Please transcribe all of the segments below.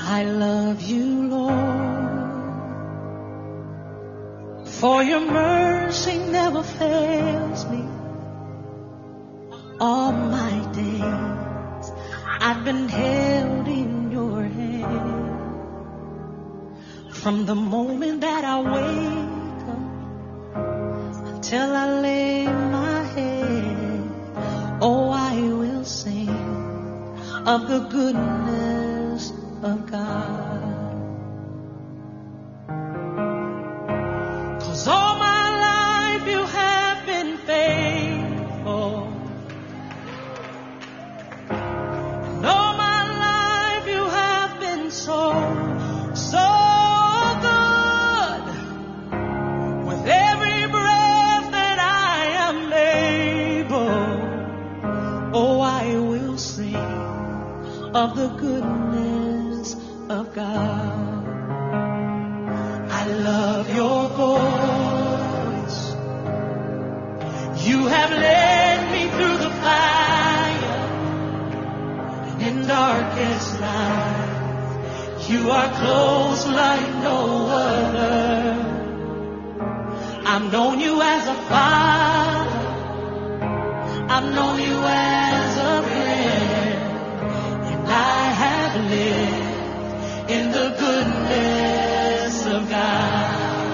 I love you, Lord, for your mercy never fails me. All my days I've been held in your hand. From the moment that I wake up until I lay my head, oh, I will sing of the goodness of God. 'Cause all my life you have been faithful. And all my life you have been so good. With every breath that I am able, oh, I will sing of the goodness of God. I love your voice. You have led me through the fire and in darkest night. You are close like no other. I've known you as a father. I've known you as a friend. And I have lived in the goodness of God.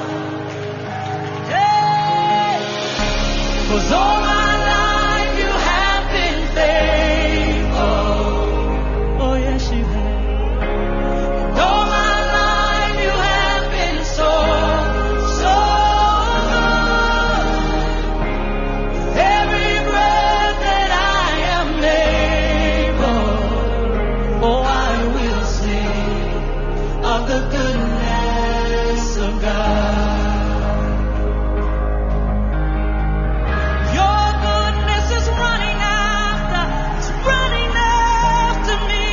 Hey! 'Cause all my life you have been faithful. Oh yes you have. And all my life you have been so good. With every breath that I am able, oh, I will sing of the goodness of God. Your goodness is running after me.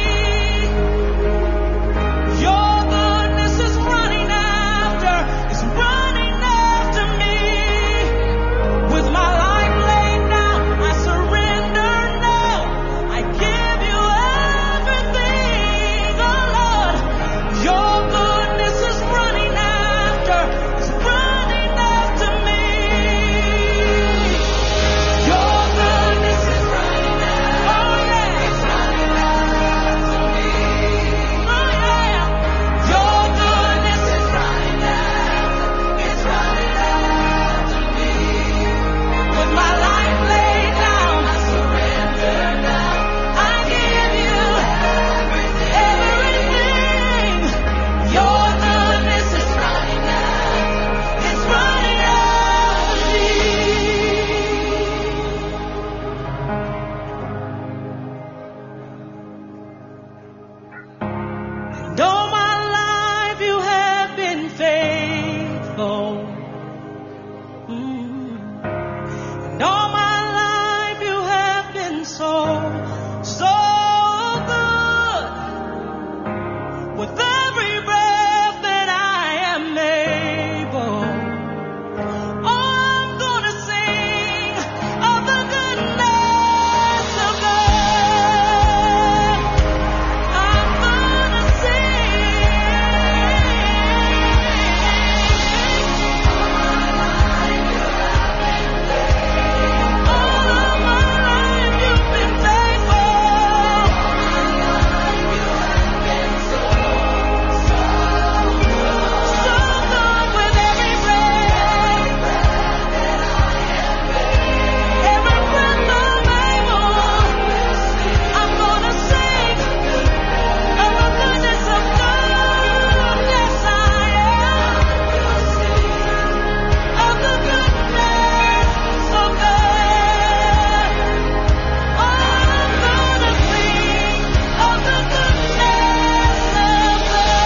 Your goodness is running after me. With my life laid down, I surrender now. I give you everything, oh Lord. Your goodness is running after me. Your goodness is running after, oh yeah, it's running after me. Oh yeah, your goodness is running after, it's running after me. With my life laid down, I surrender now. I give you everything. Your goodness is running after, it's running after me. And all my life you have been faithful. And all my life you have been so good. With every breath that I am able, oh, I'm gonna sing of the goodness of God. I'm gonna sing. All of my life you've been faithful. So good with every breath. Every breath I'm able, I'm gonna sing of the goodness of God. Yes, I am. Of the goodness of God. Oh, I'm gonna sing of the goodness of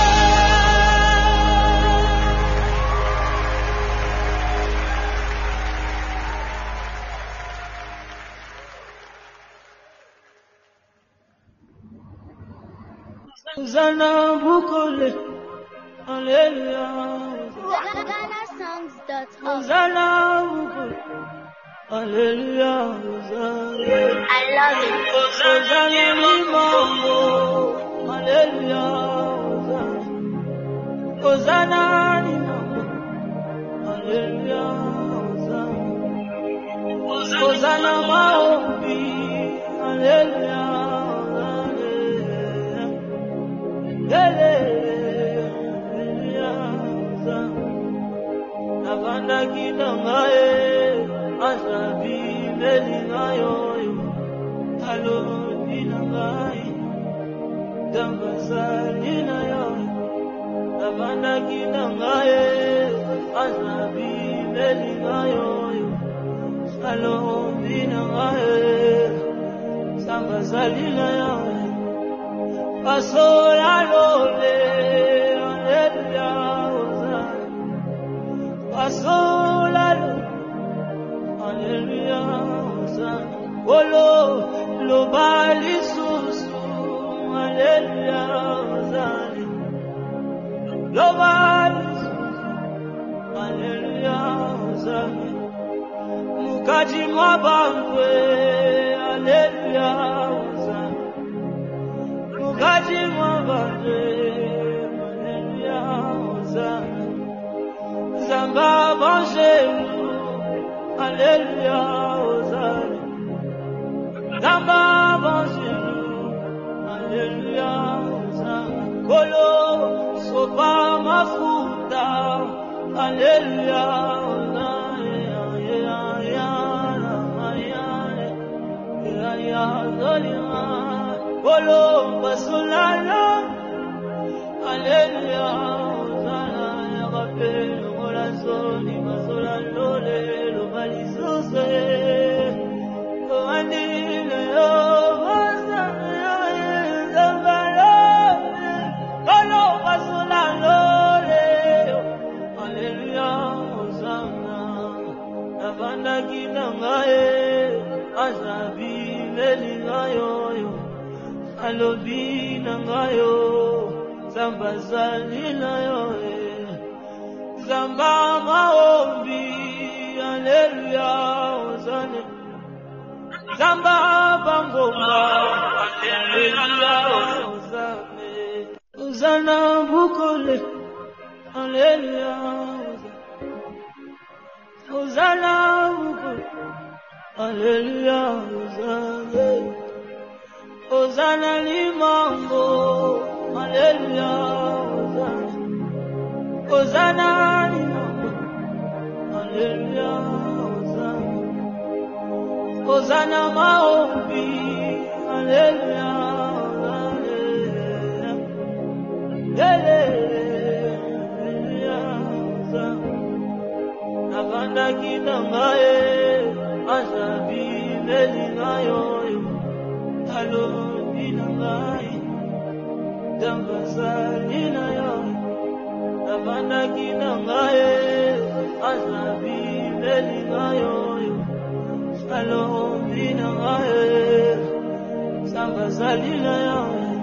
God. Hosanna Bukole, Hallelujah. GhanaSongs.org. Hosanna Bukole, Hallelujah. Hosanna. I love it. Hosanna Limambo, Hallelujah. Hosanna, hallelujah, Hosanna, Hosanna, maombi, hallelujah, hallelujah, Navanda kinangae, asabi melingayo, halo ninangae, dambazalina yo. Navanda kinangae, asabi melingayo, halo ninangae, dambazalina yo. Pasola lole, hallelujah, Hosanna. Pasola lole, hallelujah, Hosanna. Olo lo bali susu, hallelujah, Hosanna. Lo bali susu, hallelujah, Hosanna. Mukaji mwabangwe, hallelujah, Hosanna. Mukaji mwabangwe, hallelujah, Hosanna. Zamba banjelu, hallelujah, Hosanna. Zamba banjelu, hallelujah, Hosanna. Kolo sopa mafuta, hallelujah, Hosanna. Kolo basulala, hallelujah, Hosanna. Rappel, la zone, ma sola lole, lo balisose. Alobi nangayo, zamba zalina yo, zamba maombi, hallelujah, Hosanna. Zamba bangoma, hallelujah, Hosanna. Hosanna bukole, hallelujah, Hosanna bukole, hallelujah, Hosanna. Hosanna limango, hallelujah, Hosanna. Hosanna limango, hallelujah, Hosanna. Hosanna maombi, hallelujah, hallelujah, Hosanna. Navanda kinangae, asabi melingayo. Halo ninangai, dambazalina yo. Navanda kinangae, asabi melingayo. Halo ninangae, dambazalina yo.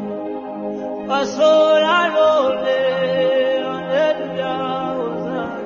Pasola lole, hallelujah, Hosanna.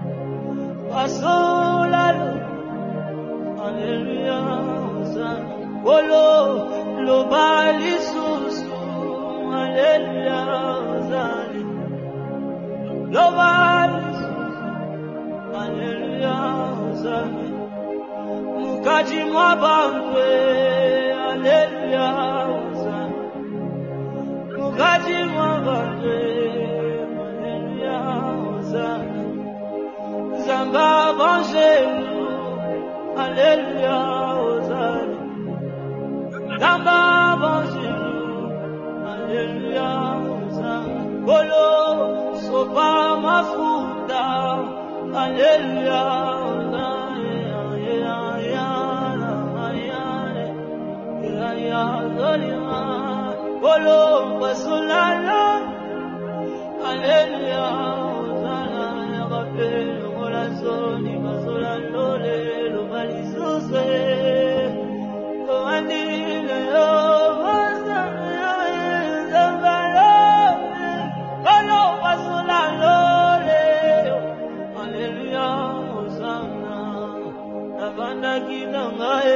Pasola lole, hallelujah, Hosanna. Olo lo bali susu, hallelujah, Hosanna. Lo bali susu, hallelujah, Hosanna. Mukaji mwabangwe, hallelujah, Hosanna. Mukaji mwabangwe, hallelujah, Hosanna. Zamba banjelu, hallelujah, Hosanna. Zamba banjelu, hallelujah, Hosanna. Kolo sopa mafuta, hallelujah, Hosanna. Kolo basulala, hallelujah, Hosanna. Rappel, la zone, ma sola lole, lo balisose.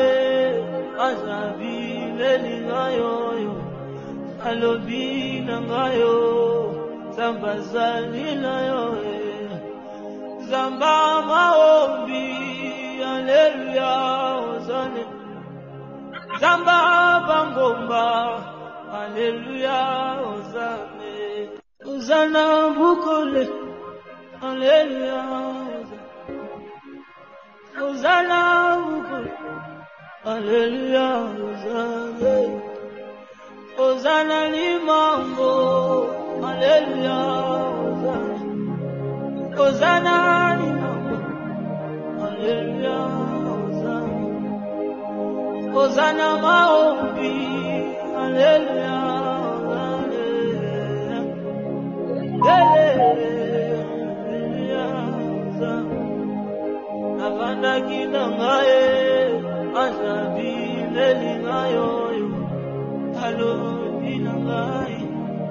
Alobi nanga sambazalila yoe zamba maombi haleluya ozane zamba bangomba haleluya ozane ozana bukole haleluya ozana bukole haleluya ozane ozana limango haleluya ozana limango haleluya ozana maombi haleluya avanda kina ngaye azabile lingayo halo inangai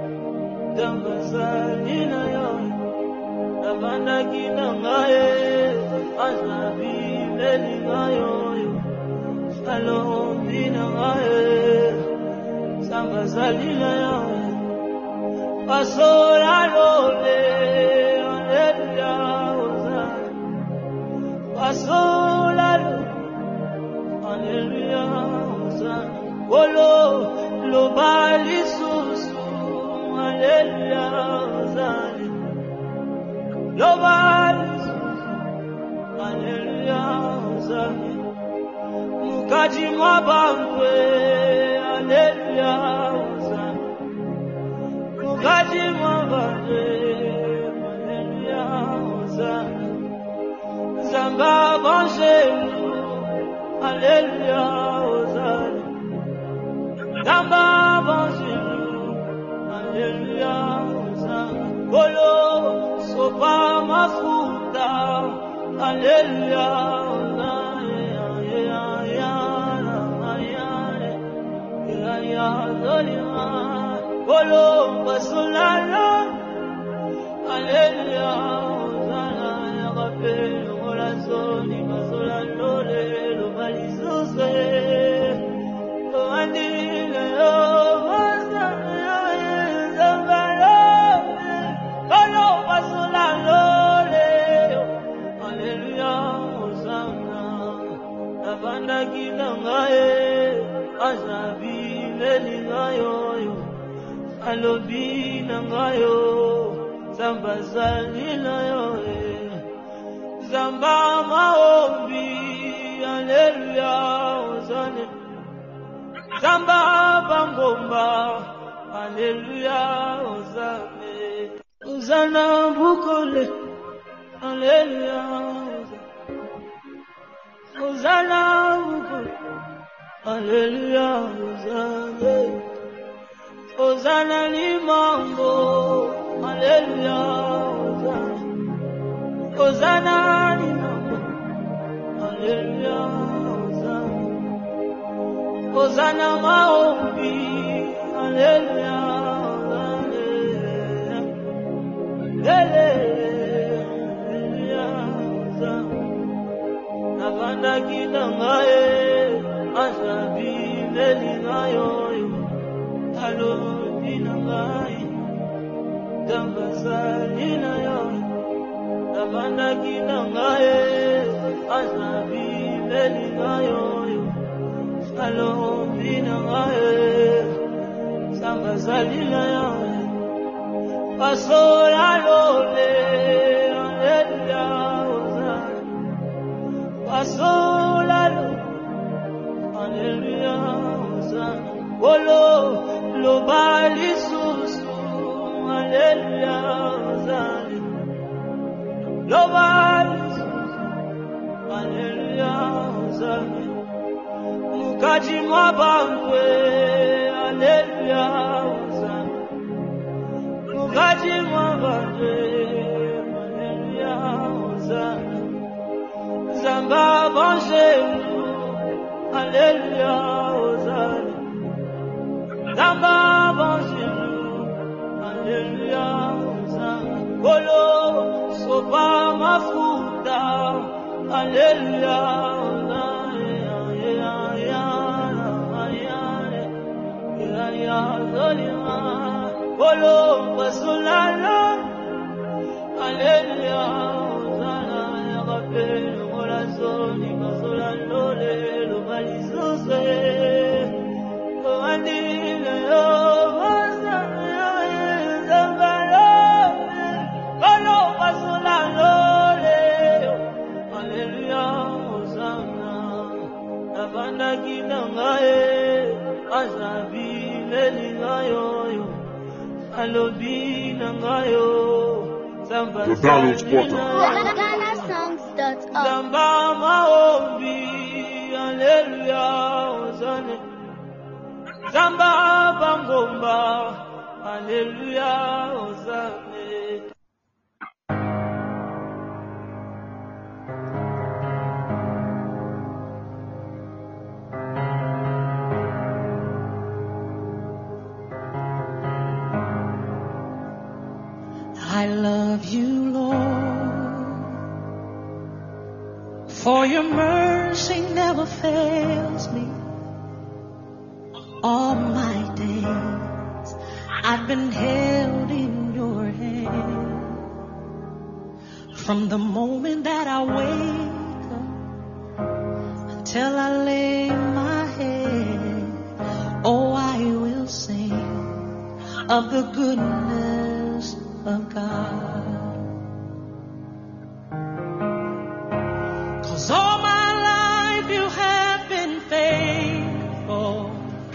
dambazalina yo avanda kina ngaye azabile lingayo halo inangai sambazalina yo pasola lole haleluya ozana pasola haleluya ozana Olo lo bali susu haleluya ozane lo bali susu haleluya ozane mukaji mwabangwe haleluya ozane mukaji mwabangwe haleluya ozane zamba banjelu haleluya ozane Zamba banjelu, haleluya, Golo, sopa mafuta, haleluya, Golo, basolala, haleluya, Gola zoni, basolalole, lo balizose, lo andile, Avanda kina ngaye azabile lingayo alobi nangayo sambazalila yo zamba maombi haleluya ozane zamba bangomba haleluya ozane ozana bukole haleluya ozana bukole haleluya ozane ozana limango haleluya ozana limango haleluya ozana maombi haleluya avanda kina ngaye azabile lingayo halo inangai dambazalina yo avanda kina ngaye azabile lingayo halo inangai sambazalina yo pasola lole haleluya pasola haleluya Olo lo bali susu haleluya ozane lo bali susu haleluya ozane mukaji mwabangwe haleluya ozane mukaji mwabangwe haleluya ozane zamba banjelu haleluya ozane zamba banjelu haleluya ozane Golo sopa mafuta haleluya ozane Golo basolala Hallelujah, Hosanna, Yakapelo, Molazoni, Mazola, Lole, Lomalizose, Koandile, Hosanna, Zambalo, Kolo, Mazola, Lole, Hallelujah, Hosanna, Navanda Kinangae, Azabi, Leligayo, Alobi, Nangayo. McDonald's Water. GhanaSongs.org. Zamba maombi, hallelujah, Hosanna. Zamba bangomba, hallelujah, Hosanna. I love you, Lord, for your mercy never fails me. All my days I've been held in your hand. From the moment that I wake up until I lay my head, oh, I will sing of the goodness of God. 'Cause all my life you have been faithful.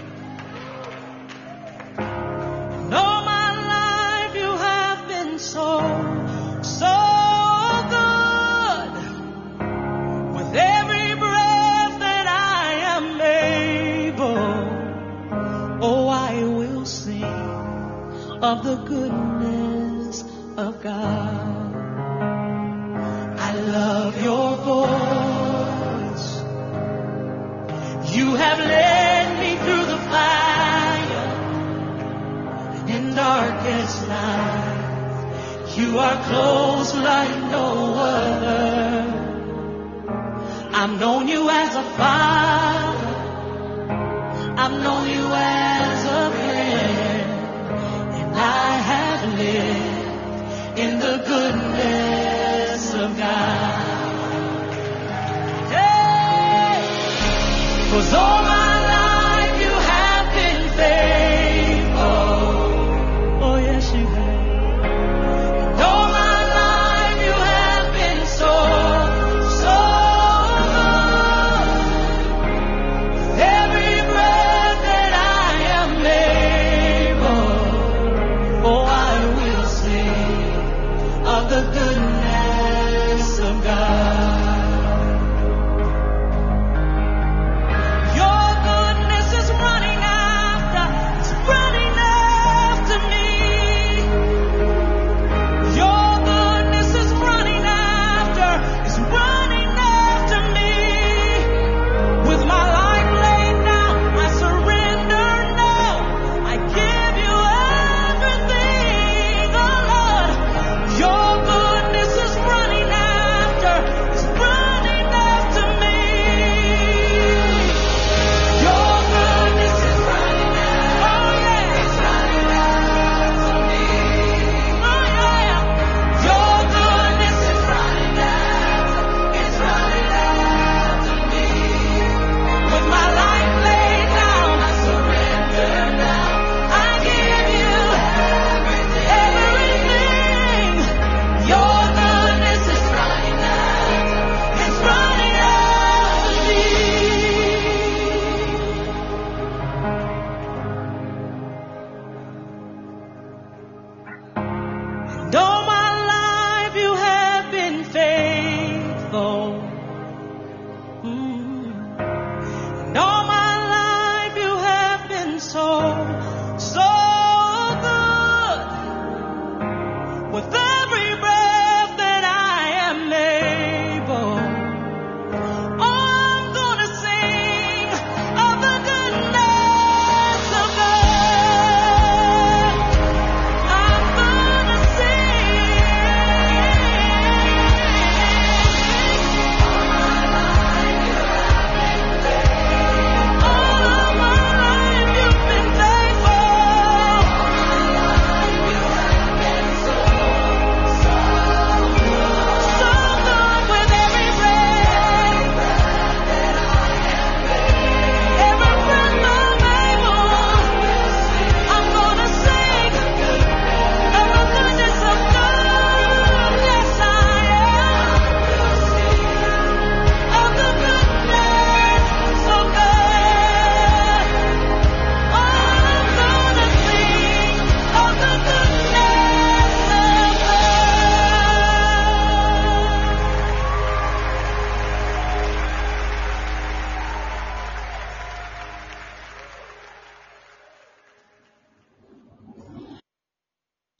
And all my life you have been so, so good. With every breath that I am able, oh, I will sing of the goodness of God. I love your voice. You have led me through the fire in darkest night. You are close like no other. I've known you as a father. I've known you as a friend. And I have lived in the goodness of God. Hey! 'Cause all my life you have been faithful. Oh yes you have. And all my life you have been so, so good. With every breath that I am able, oh, I will sing of the goodness of God. Your goodness is running after me. Your goodness is running after me. With my life laid down, I surrender now. I give you everything, oh Lord. Your goodness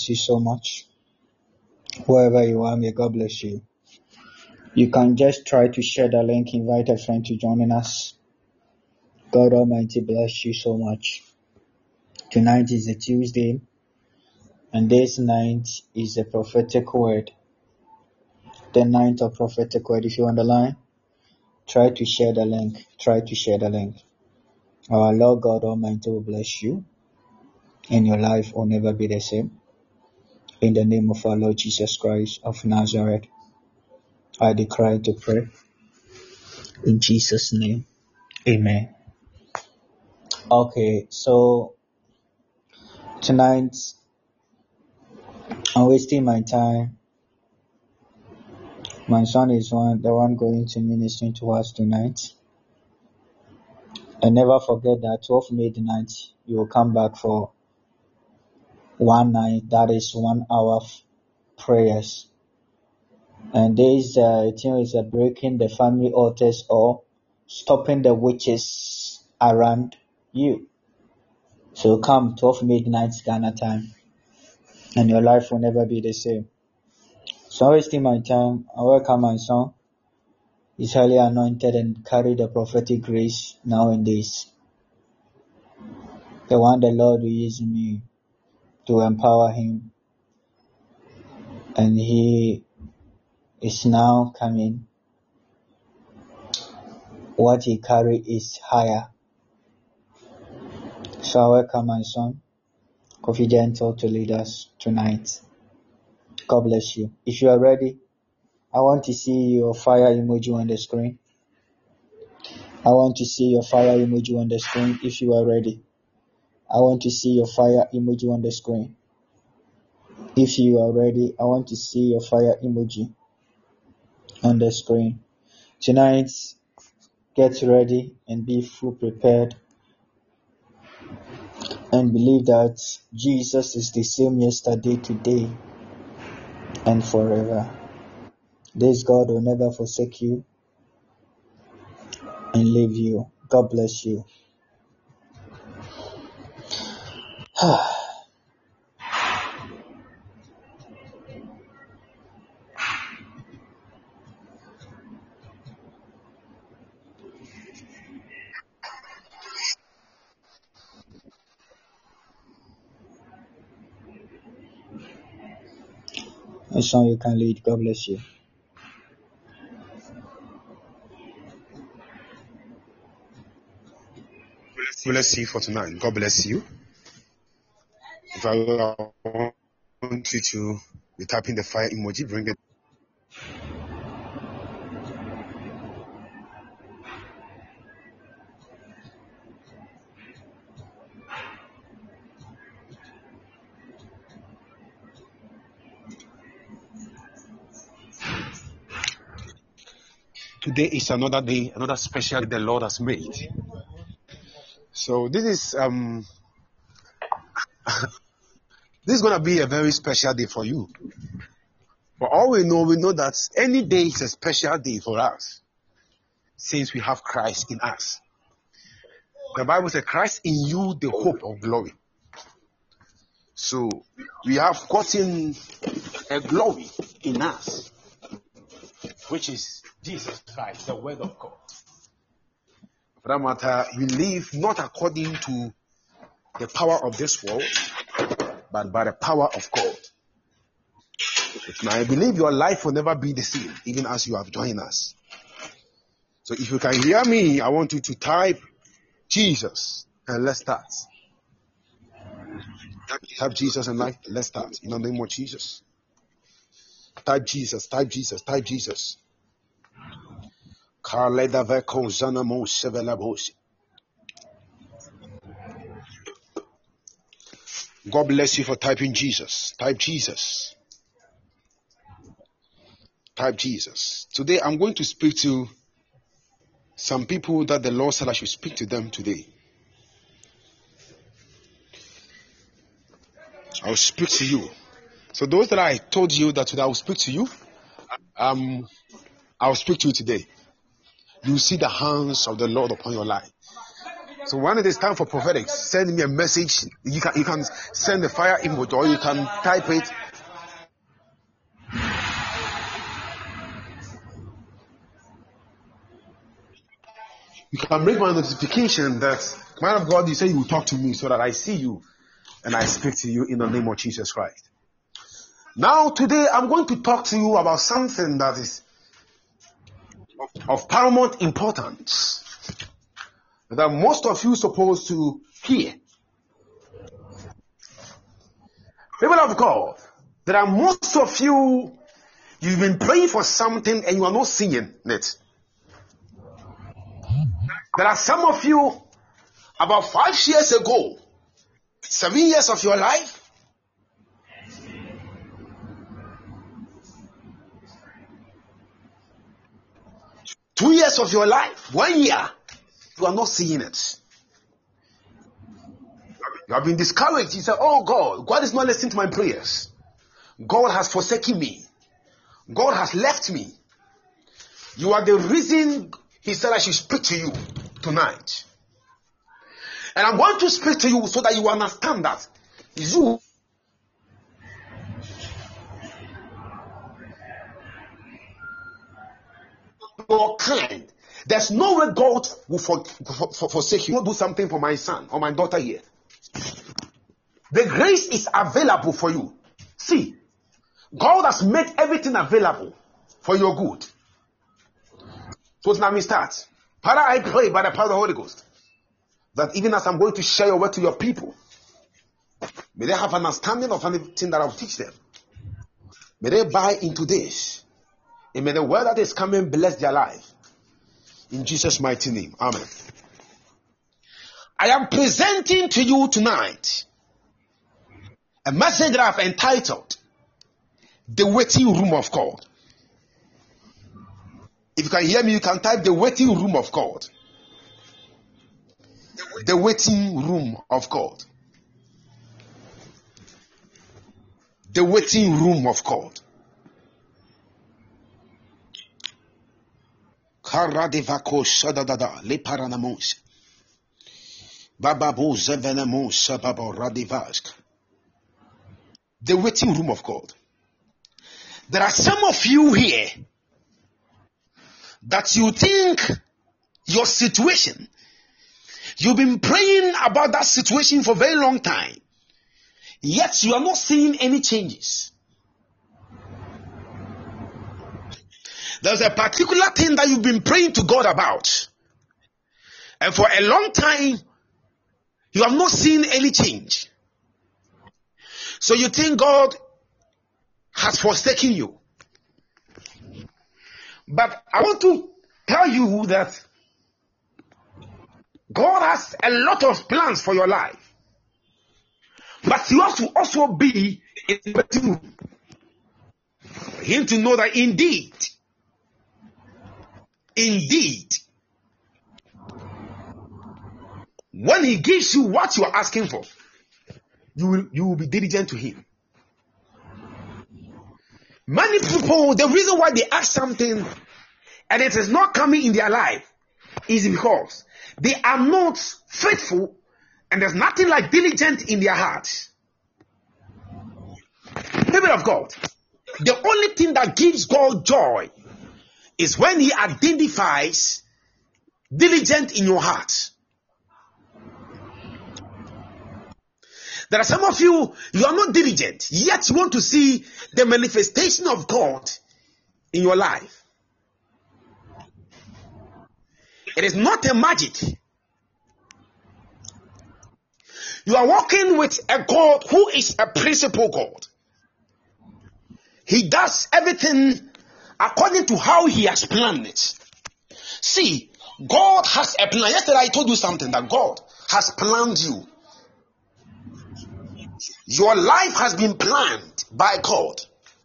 you so much. Wherever you are, may God bless you. You can just try to share the link, invite a friend to join us. God Almighty bless you so much. Tonight is a Tuesday, and this night is a prophetic word. The night of prophetic word. If you're on the line, try to share the link. Try to share the link. Our Lord God Almighty will bless you, and your life will never be the same. In the name of our Lord Jesus Christ of Nazareth, I declare to pray. In Jesus' name, amen. Okay, so tonight, I'm wasting my time. My son is the one going to minister to us tonight. And never forget that 12 midnight, you will come back for one night, that is 1 hour of prayers. And this thing is breaking the family altars or stopping the witches around you. So come 12 midnight Ghana time, and your life will never be the same. So wasting my time, I welcome my son. He's highly anointed and carry the prophetic grace nowadays. The one the Lord will use me to empower him, and he is now coming. What he carry is higher. So I welcome my son, Kofi Gentle, to lead us tonight. God bless you. If you are ready, I want to see your fire emoji on the screen. I want to see your fire emoji on the screen if you are ready. I want to see your fire emoji on the screen. If you are ready, I want to see your fire emoji on the screen. Tonight, get ready and be full prepared and believe that Jesus is the same yesterday, today, and forever. This God will never forsake you and leave you. God bless you. A song you can lead. God bless you. Bless you for tonight. God bless you. If I want you to be tapping the fire emoji, bring it. Today is another day, another special day the Lord has made. So this is this is gonna be a very special day for you. For all we know that any day is a special day for us, since we have Christ in us. The Bible says, Christ in you, the hope of glory. So we have gotten a glory in us, which is Jesus Christ, the Word of God. For that matter, we live not according to the power of this world, but by the power of God. Now, I believe your life will never be the same, even as you have joined us. So if you can hear me, I want you to type Jesus, and let's start. Type Jesus and let's start. In the name of Jesus. Type Jesus, type Jesus, type Jesus. God bless you for typing Jesus. Type Jesus. Type Jesus. Today I'm going to speak to some people that the Lord said I should speak to them today. I'll speak to you. So those that I told you that today I will speak to you, I'll speak to you today. You see the hands of the Lord upon your life. So when it is time for prophetic, send me a message. You can send the fire emoji or you can type it. You can bring my notification that, man of God, you say you will talk to me so that I see you and I speak to you in the name of Jesus Christ. Now today I'm going to talk to you about something that is of paramount importance that most of you supposed to hear. People of God, there are most of you, you've been praying for something and you are not seeing it. There are some of you, about 5 years ago, 7 years of your life, two years of your life, 1 year, you are not seeing it. You have been discouraged. You say, oh God is not listening to my prayers. God has forsaken me. God has left me. You are the reason He said I should speak to you tonight. And I'm going to speak to you so that you understand that you are kind. There's no way God will forsake you. You will do something for my son or my daughter here. The grace is available for you. See, God has made everything available for your good. So now we start. Father, I pray by the power of the Holy Ghost that even as I'm going to share your word to your people, may they have understanding of anything that I'll teach them. May they buy into this. And may the word that is coming bless their life. In Jesus' mighty name. Amen. I am presenting to you tonight a message that I've entitled The Waiting Room of God. If you can hear me, you can type The Waiting Room of God. The Waiting Room of God. The Waiting Room of God. Karadivako Sadadada Le Paranamos Bababo Zevenamo Sababo Radivask. The Waiting Room of God. There are some of you here that you think your situation, you've been praying about that situation for a very long time, yet you are not seeing any changes. There's a particular thing that you've been praying to God about, and for a long time you have not seen any change. So you think God has forsaken you. But I want to tell you that God has a lot of plans for your life. But you have to also be in the waiting room for Him to know that indeed, when He gives you what you are asking for, you will be diligent to Him. Many people, the reason why they ask something and it is not coming in their life is because they are not faithful and there's nothing like diligent in their hearts. People of God, the only thing that gives God joy is when He identifies diligent in your heart. There are some of you, you are not diligent, yet you want to see the manifestation of God in your life. It is not a magic. You are walking with a God who is a principle God. He does everything according to how He has planned it. See, God has a plan. Yesterday I told you something, that God has planned you. Your life has been planned by God.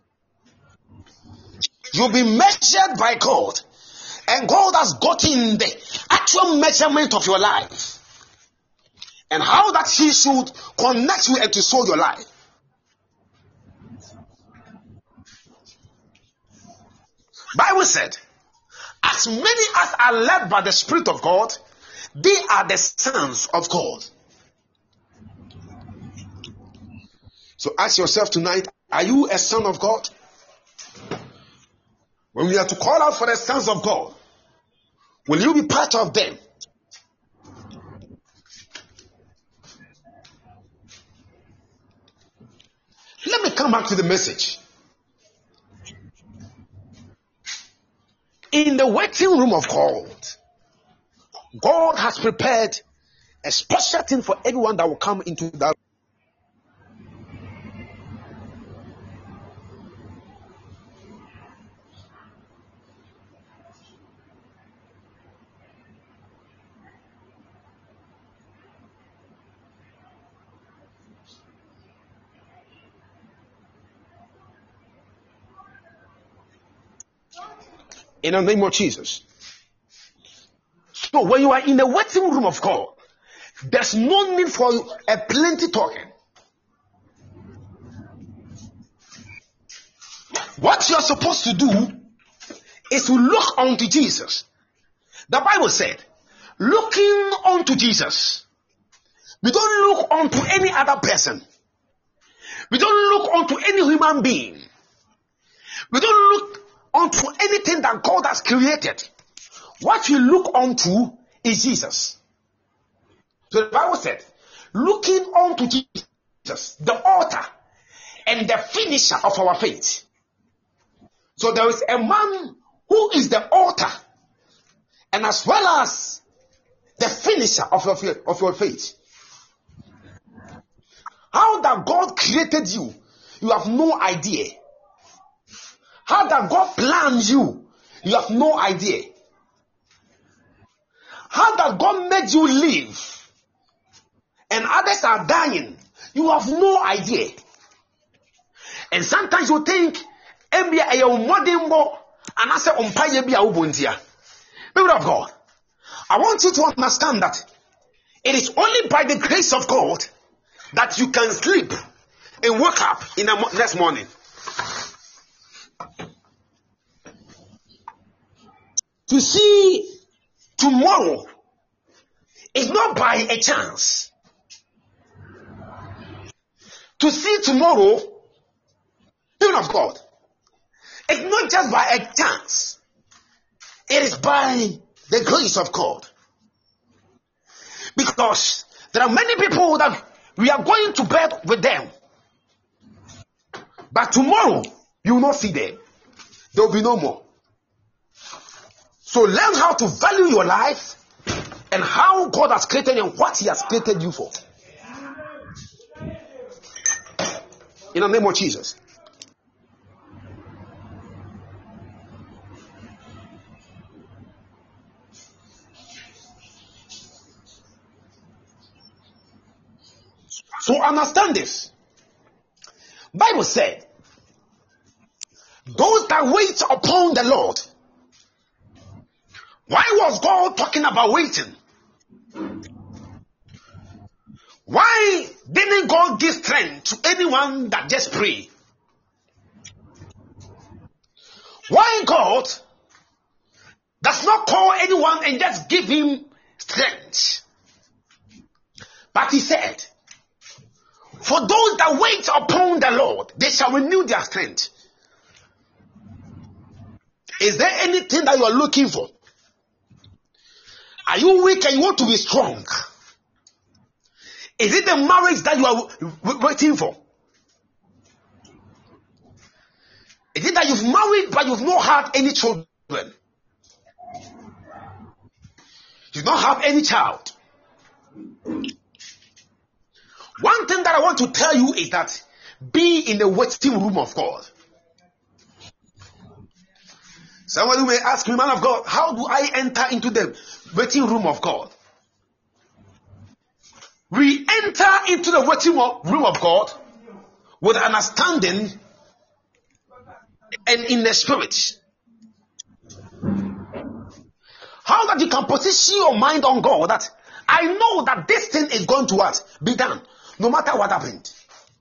You've been measured by God. And God has gotten the actual measurement of your life. And how that He should connect you and to sow your life. Bible said, as many as are led by the Spirit of God, They are the sons of God. So ask yourself tonight, are you a son of God? When we are to call out for the sons of God, will you be part of them? Let me come back to the message. In the waiting room of God, God has prepared a special thing for everyone that will come into that. In the name of Jesus. So when you are in the waiting room of God, there's no need for a plenty talking. What you are supposed to do is to look unto Jesus. The Bible said, looking unto Jesus. We don't look unto any other person. We don't look unto any human being. We don't look unto anything that God has created. What we look unto is Jesus. So the Bible said, looking unto Jesus, the author and the finisher of our faith. So there is a man who is the author and as well as the finisher of your faith. How that God created you, you have no idea. How that God planned you, you have no idea. How that God made you live and others are dying, you have no idea. And sometimes you think, people of God, I want you to understand that it is only by the grace of God that you can sleep and wake up in the next morning. To see tomorrow is not by a chance. To see tomorrow, people of God, it's not just by a chance. It is by the grace of God. Because there are many people that we are going to bed with them. But tomorrow, you will not see them. There will be no more. So learn how to value your life and how God has created you and what He has created you for. In the name of Jesus. So understand this. Bible said, those that wait upon the Lord. Why was God talking about waiting? Why didn't God give strength to anyone that just pray? Why God does not call anyone and just give him strength? But He said, for those that wait upon the Lord, they shall renew their strength. Is there anything that you are looking for? Are you weak and you want to be strong? Is it the marriage that you are waiting for? Is it that you've married but you've not had any children? You don't have any child. One thing that I want to tell you is that be in the waiting room of God. Somebody may ask me, man of God, how do I enter into the waiting room of God? We enter into the waiting room of God with understanding and in the spirit. How that you can position your mind on God that I know that this thing is going to what? Be done, no matter what happened.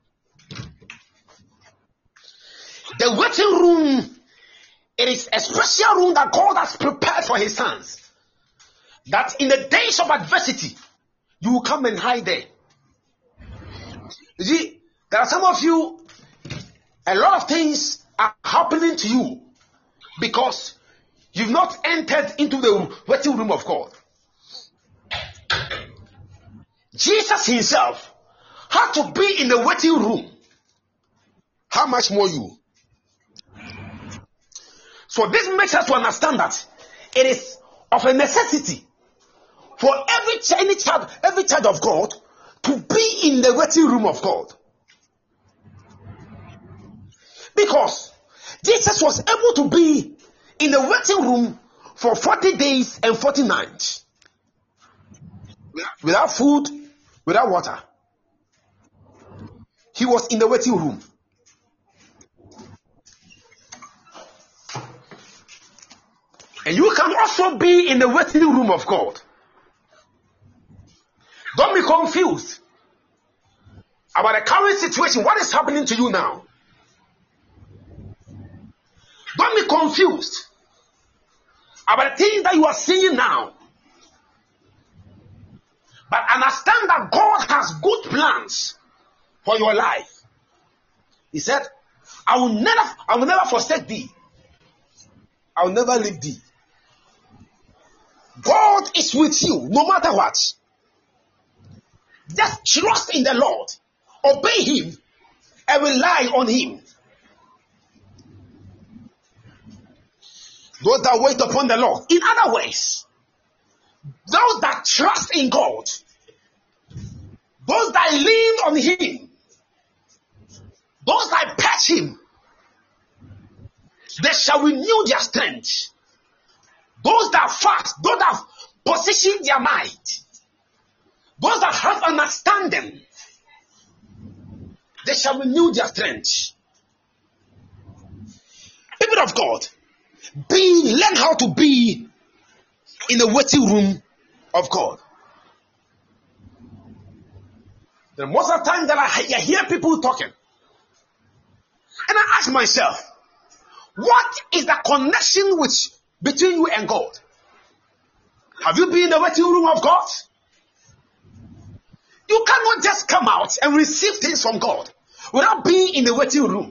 The waiting room, it is a special room that God has prepared for His sons. that in the days of adversity, you will come and hide there. You see, there are some of you, a lot of things are happening to you because you've not entered into the waiting room of God. Jesus himself had to be in the waiting room. How much more you? So this makes us to understand that it is of a necessity for every child of God to be in the waiting room of God. Because Jesus was able to be in the waiting room for 40 days and 40 nights. Without food, without water. He was in the waiting room. And you can also be in the waiting room of God. Don't be confused about the current situation. What is happening to you now? Don't be confused about the things that you are seeing now. But understand that God has good plans for your life. He said, I will never forsake thee. I will never leave thee. God is with you no matter what. Just trust in the Lord. Obey him and rely on him. Those that wait upon the Lord. In other words, those that trust in God, those that lean on him, those that patch him, they shall renew their strength. Those that fast, those that position their mind, those that have understanding, they shall renew their strength. People of God, learn how to be in the waiting room of God. The most of the time that I hear people talking, and I ask myself, what is the connection between you and God? Have you been in the waiting room of God? You cannot just come out and receive things from God without being in the waiting room.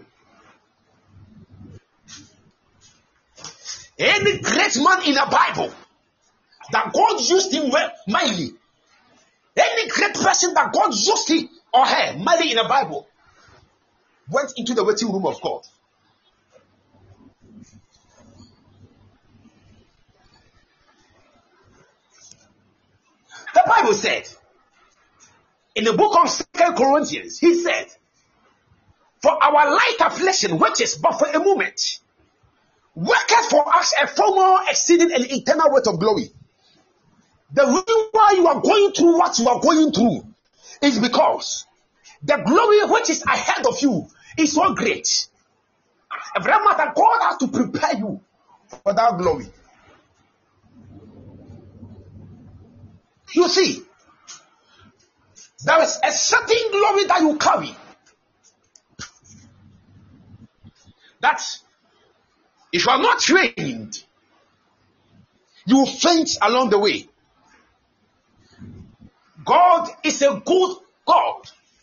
Any great man in the Bible that God used him well, mightily, any great person that God used him or her mightily in the Bible, went into the waiting room of God. The Bible said, in the book of 2 Corinthians, he said, for our light affliction, which is but for a moment, worketh for us a far more exceeding and eternal weight of glory. The reason why you are going through what you are going through is because the glory which is ahead of you is so great. Every matter, God has to prepare you for that glory. You see, there is a certain glory that you carry that if you are not trained, you will faint along the way. God is a good God.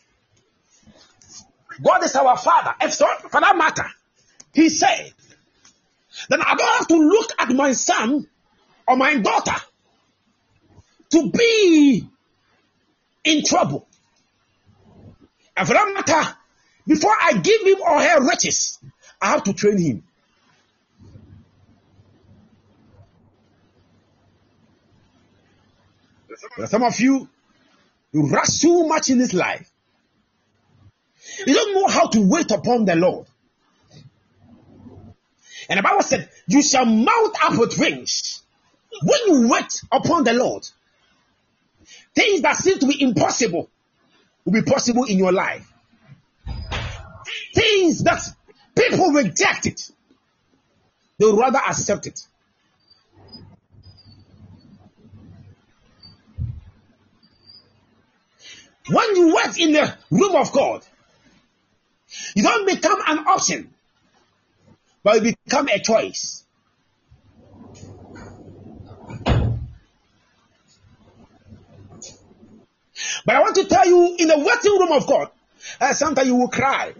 God is our Father. And so, for that matter, he said, then I don't have to look at my son or my daughter to be in trouble. And for that matter, before I give him or her riches, I have to train him. But some of you rush so much in this life. You don't know how to wait upon the Lord. And the Bible said, you shall mount up with wings. When you wait upon the Lord, things that seem to be impossible will be possible in your life. Things that people reject it, they will rather accept it. When you wait in the room of God, you don't become an option, but you become a choice. But I want to tell you, in the waiting room of God, sometimes you will cry.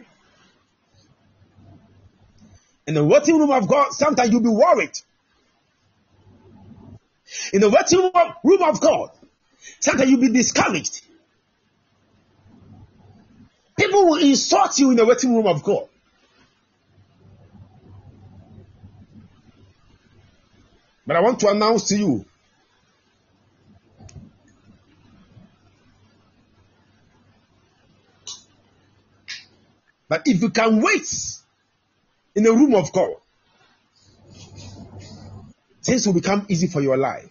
In the waiting room of God, sometimes you'll be worried. In the waiting room of God, sometimes you'll be discouraged. People will insult you in the waiting room of God. But I want to announce to you, that if you can wait in the room of God, things will become easy for your life.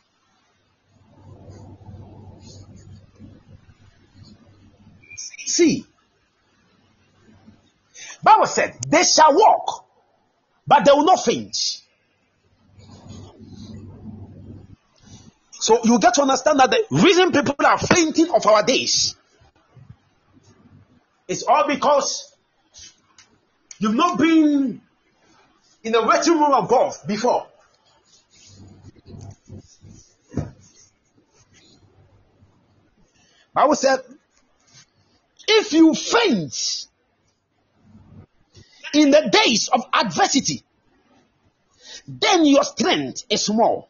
See, Bible said, they shall walk, but they will not faint. So you get to understand that the reason people are fainting of our days is all because you've not been in the waiting room of God before. Bible said, if you faint in the days of adversity, then your strength is small.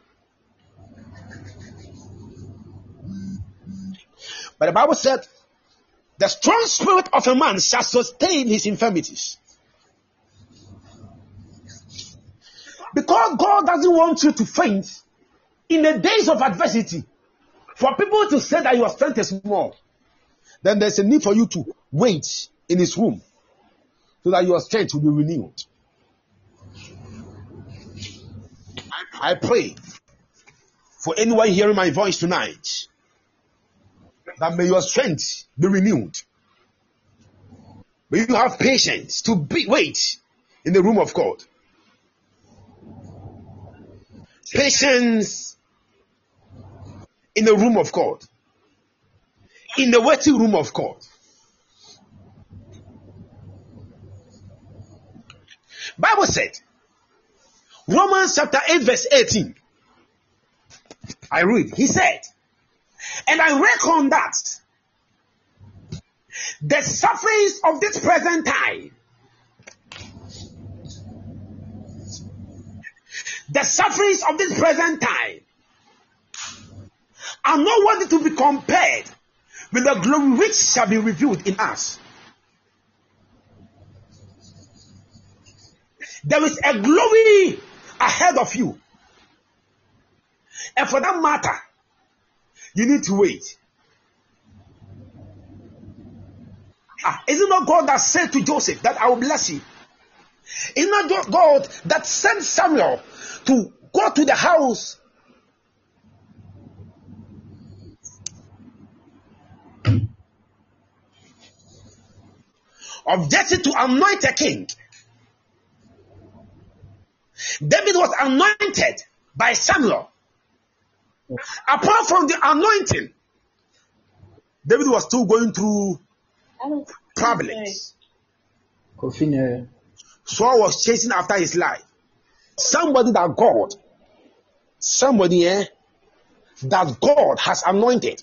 But the Bible said, the strong spirit of a man shall sustain his infirmities. Because God doesn't want you to faint in the days of adversity, for people to say that your strength is small, then there's a need for you to wait in his room so that your strength will be renewed. I pray for anyone hearing my voice tonight, that may your strength be renewed. May you have patience to wait in the room of God. Patience in the room of God. In the waiting room of God. Bible said, Romans chapter 8 verse 18. I read. He said, and I reckon that the sufferings of this present time, are not worthy to be compared with the glory which shall be revealed in us. There is a glory ahead of you. And for that matter, you need to wait. Is it not God that said to Joseph that I will bless you? Is it not God that sent Samuel to go to the house of Jesse to anoint a king? David was anointed by Samuel. Apart from the anointing, David was still going through problems. Saul was chasing after his life. Somebody that God has anointed.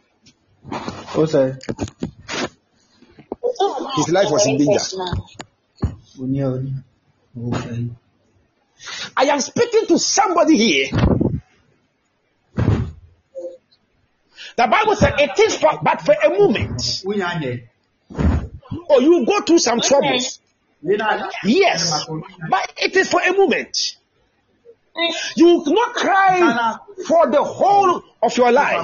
His life was in danger. I am speaking to somebody here. The Bible said it is but for a moment. Or you go through some troubles. Yes, but it is for a moment. You will not cry for the whole of your life.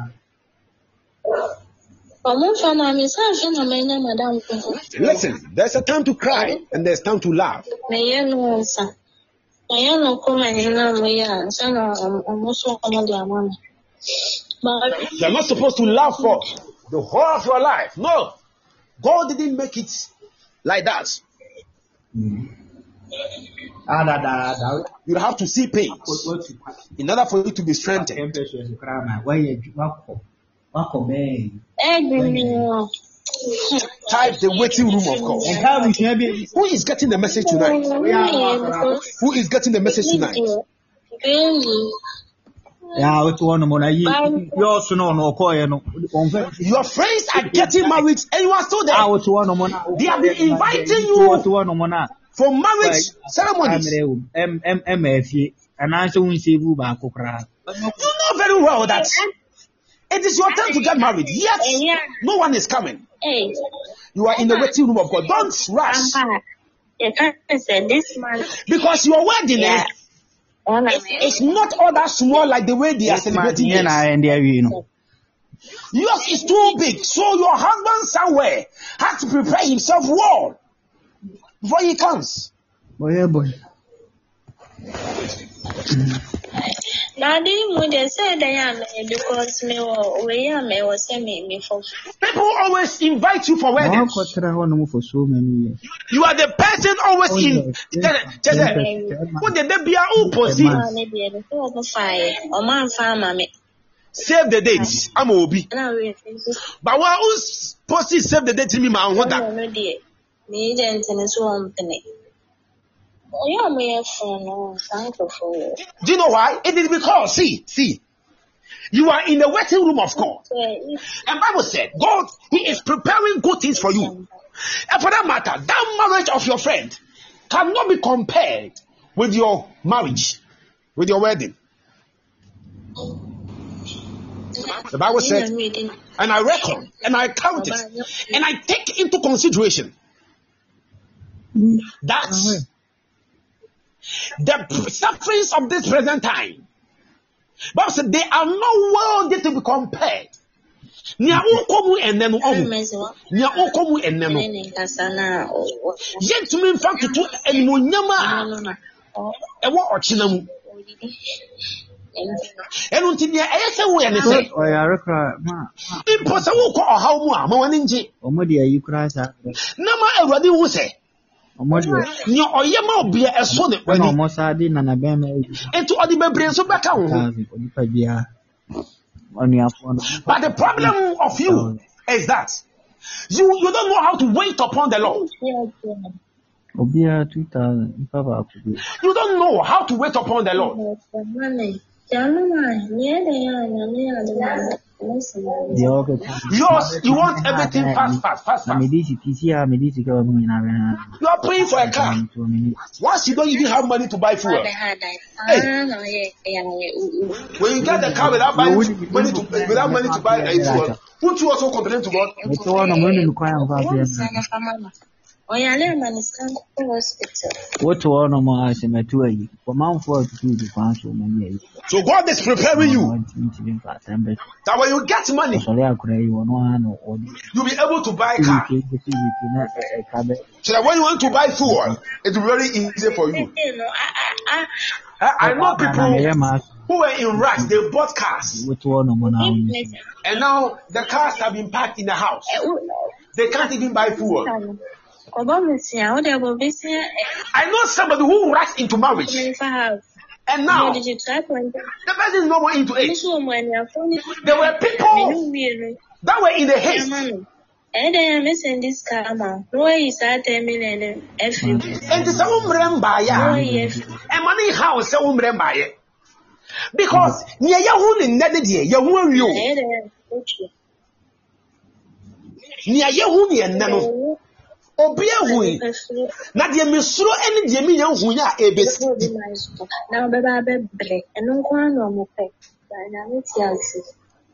Listen, there's a time to cry and there's time to laugh. You're not supposed to laugh for the whole of your life. No. God didn't make it like that. You have to see pain in order for you to be strengthened. Type the waiting room of God. Who is getting the message tonight? Who is getting the message tonight? Yeah, what's one more? You also know no coin. Your friends are getting married and you are still there. I was one more. They have been inviting you for marriage ceremonies. MFA, and I don't see you back. You know very well that it is your time to get married. Yet no one is coming. You are in the waiting room of God. Don't rush. Because your wedding it's not all that small like the way they are celebrating it. Yours is too big, so your husband somewhere has to prepare himself well before he comes. Boy. Daddy, when they say they are because me was me for. People always invite you for weddings. For so many years. You are the person always in. What did they be save the dates. I'm Obi. But what who's posting save the date to me, man? What that? Do you know why? It is because, see, you are in the waiting room of God. And Bible said, God, He is preparing good things for you. And for that matter, that marriage of your friend cannot be compared with your marriage, with your wedding. The Bible said, and I reckon, and I count it, and I take into consideration that the sufferings of this present time, Bible said, they are not worthy to be compared. Nia okomu enenu ohu. Nia okomu enenu. Yet to me in fact to enmunyama ewo ochina mu. Enu ntinia eyese wo ene se. Oyare kra ma. Imposa wo ko ohaw mu a ma wani nje. Omodi ayi kra sa. Na ma Awurade wo se. Omodi. Nia oyema obia eso ne wani. Na omosa di na na be ma. Enti odi bebre so beka wo. Odipa bia. But the problem of you is that you don't know how to wait upon the Lord. You don't know how to wait upon the Lord. Yours, you want everything fast. You are praying for a car. Once you don't even have money to buy fuel. Hey. When you get the car without money to buy a fuel, won't you also complain to God? What so God is preparing you that when you get money, you'll be able to buy a car. So that when you want to buy food, it's very easy for you. I know people who were in rush, they bought cars. And now the cars have been parked in the house. They can't even buy food. I know somebody who rushed into marriage. And now the person is no more into it. There were people that were in the haste. And money house because near Yahoo in Neddy, near Yahoo and Nano. Obia hui na de mesuro ene de me yan hu ya ebesi na baba bebre eno kwa no mo pe na meti ase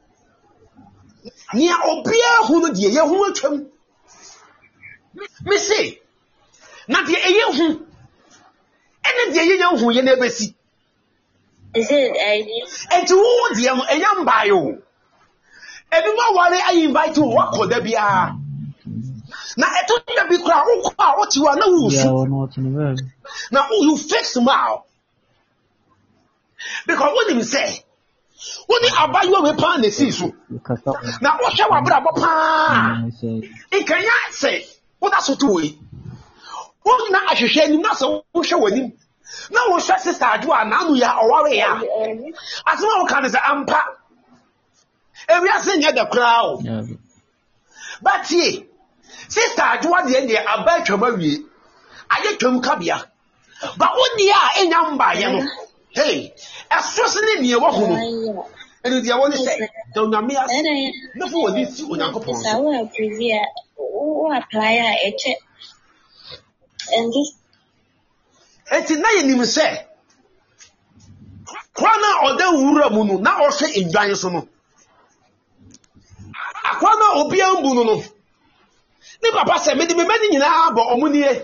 nia obia hu no de ye hu atwam me say na de ye hu ene de ye yan hu ye na ebesi is it enti wo de no enyam bayo ebi ma wale I invite you wakoda bia now, I told you to be crowd. What you are now, now you fix smile because what did you say? What did I buy you a pan? The season now, what shall I grab a pan? It can you say what that's what we what now? I should share him. Not so show with him. Now, what shall sister do? Now, we are aware. As well, can is an ampa. And we are saying the crowd, but ye. Sister, I do want the end about your movie. I get to Kabia. But what the are in Yamba, Hey, as trusting near what who and the one say, don't know me as no for this on Uncle Pons. I will preview who apply a check and this And tonight, you say, Kwana or the Ura Munu, now also in Giantsono. Akwana Obia Buno. Ne papa said, made me many in Abo Omunie.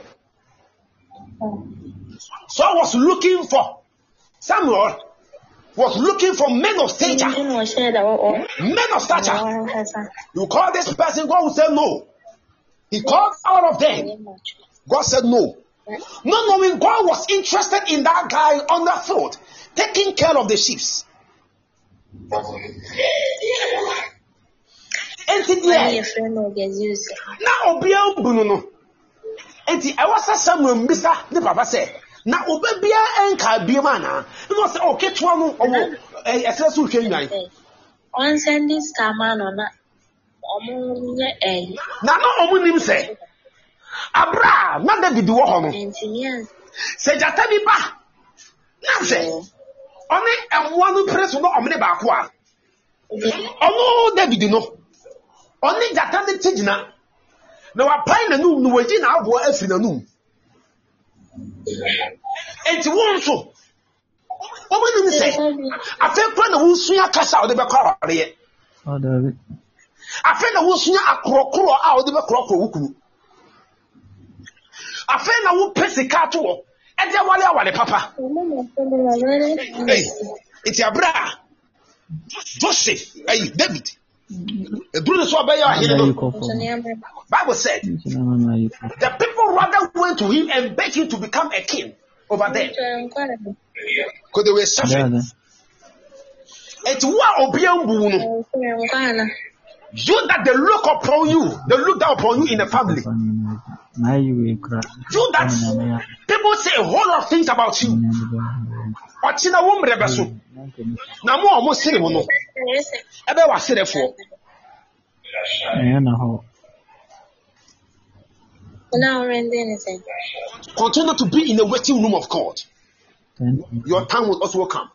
So I was looking for Samuel was looking for men of stature. Men of stature. You call this person, God will say no. He called all of them. God said no. Not knowing God was interested in that guy on the field, taking care of the sheep. And now Obia Bruno. And I was Samuel Mr. The Papa said, now Obia and Kabimana. It was okay to one a successful king. On Sundays, come on. Now, no one say. Abra, not David Warhol. Say Jatabiba. Nancy. Only and one person no omni bakwa. Oh no, David no. Only Jatani Tijna. No, I pine a noon, no waiting out for us in a noon. And you want so. What will you say? I felt when the wool swing a cast out of the car. I felt the wool swing a crow out of the crow. I feel na wo pese ka to wo e de wale papa. Hey, it's your brother Joseph, hey David. E duru so be ya here no. Bible said the people rather went to him and begged him to become a king over them because they were suffering. It's what obiambu no. You that they look upon you, they look down upon you in the family. You that people say a whole lot of things about you. Ochina wo mrebe so. Na mo almost say mo no. Ebe wa say therefore. Continue to be in the waiting room of God. Your time will also come.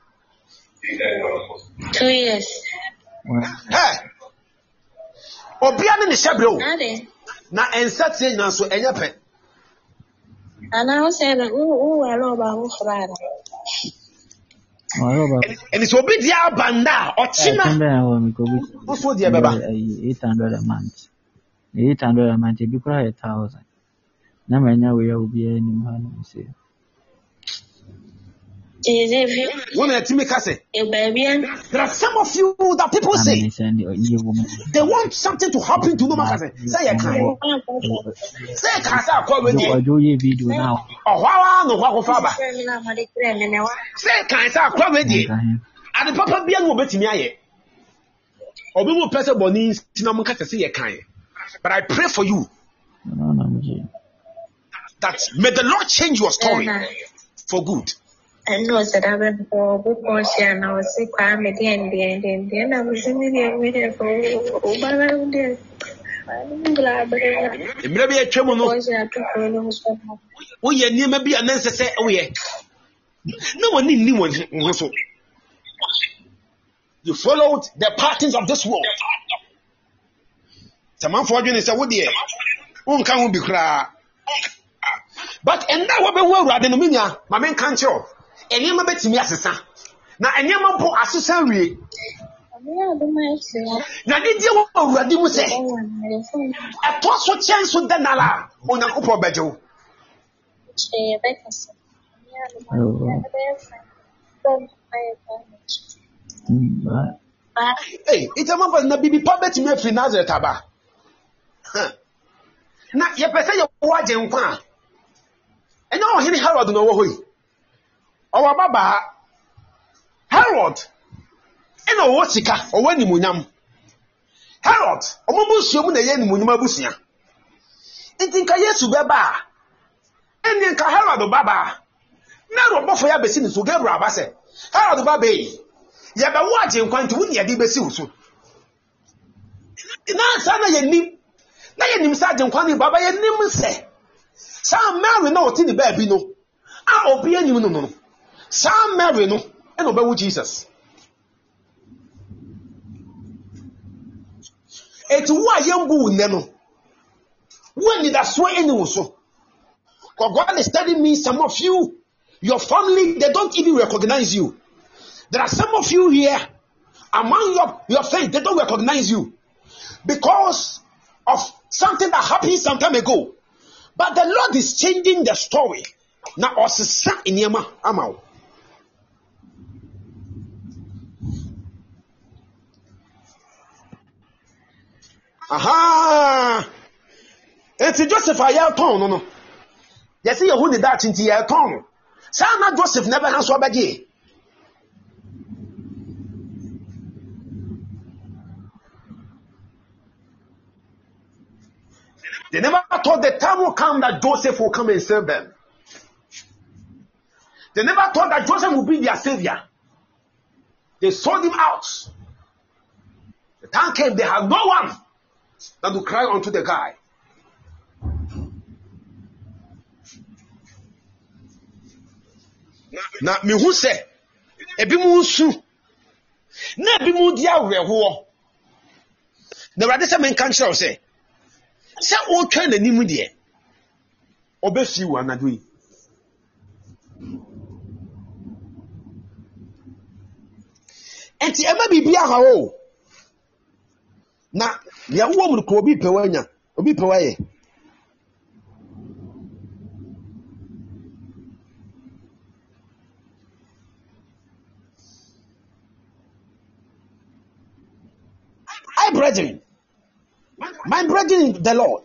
2 years. Hey. Obiane ni sebro. Na ensatie na so enye pe. Ana o say na o alo ba ho frara. And it's obi dia banda ochina. Also dia baba 800 a month. 800 a month be kura 1,000. Na manya we obi ani mu hanu say. There are some of you that people say they want something to happen to no man. Say I can't. Say I can't. Say I can't. Say I can't. And the papa be able to me. Obi will person boni sinamu kasa say I can't. But I pray for you that may the Lord change your story for good. I know that I've been for book and I was sick. I'm at the end. I was in the for Obama. I'm glad, but maybe a tremor. Oh, yeah, near maybe an answer say, oh, yeah. No one knew one. You followed the patterns of this world. Some for you is a wood, dear. Won't come be cry. But and now, what rather than my man can't show. And you may be me assassin. Now, and you may put assassin. Now, did you already say? A possible chance with the Nala on a couple bedroom. Hey, it's a moment na bibi pabet me fi Nazareth aba. Na ye pese ye waje nkwa. Enya ohini Herod no wo hoyi. Owa baba Herod ena wo sika owa nimunyam. Herod omomusuom na ye nimunyam abusia. Ntinka Yesu beba. Eni nka Herod baba. Na robofo ya besi ni so Gabriel abase. Herod baba yi. Ya ba waje nkwa nti wuni ya di besi usu. Na sana ye nim. Na ye nim sa je nkwa ni baba ye nim se. Sa Mary na oti ni ba bi no. A obi anim no no. Sam Mary no, and obey Jesus. It's why young boo neno. When did I swear anyone so? God is telling me some of you, your family, they don't even recognize you. There are some of you here, among your friends, they don't recognize you because of something that happened some time ago. But the Lord is changing the story. Now, Osisa Inyama Amao. Aha! It's Joseph Ayalton, no. You see, who did that into your tongue? Sana Joseph never has what baggy. They never thought the time will come that Joseph will come and save them. They never thought that Joseph would be their savior. They sold him out. The time came, they had no one that would cry unto the guy. Now, me who say, ebi mu su, na ebi mu dia reho. The rather say men can show say o twa na nimu de, obefi wo anadu yi. Enti ema bibia ha o. Na ya wo mu ko obi pewanya, obi pewaye. Brethren, my brethren in the Lord,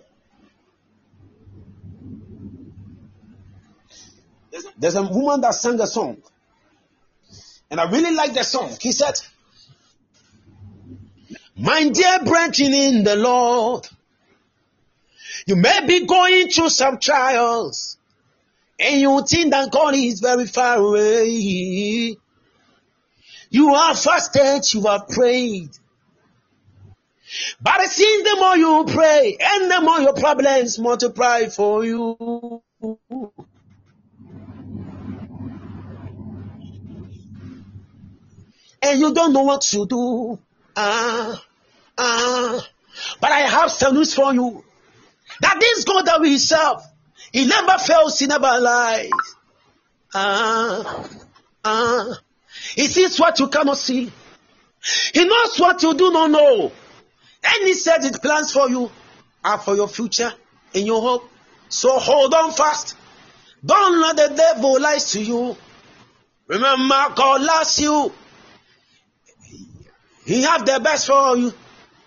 there's a woman that sang a song, and I really like the song. He said, my dear brethren in the Lord, you may be going through some trials, and you think that God is very far away. You are fasted, you have prayed. But it seems the more you pray and the more your problems multiply for you. And you don't know what to do. But I have some news for you. That this God that we serve, He never fails, He never lies. He sees what you cannot see. He knows what you do not know. And He said His plans for you are for your future and your hope. So hold on fast. Don't let the devil lie to you. Remember, God loves you. He has the best for you.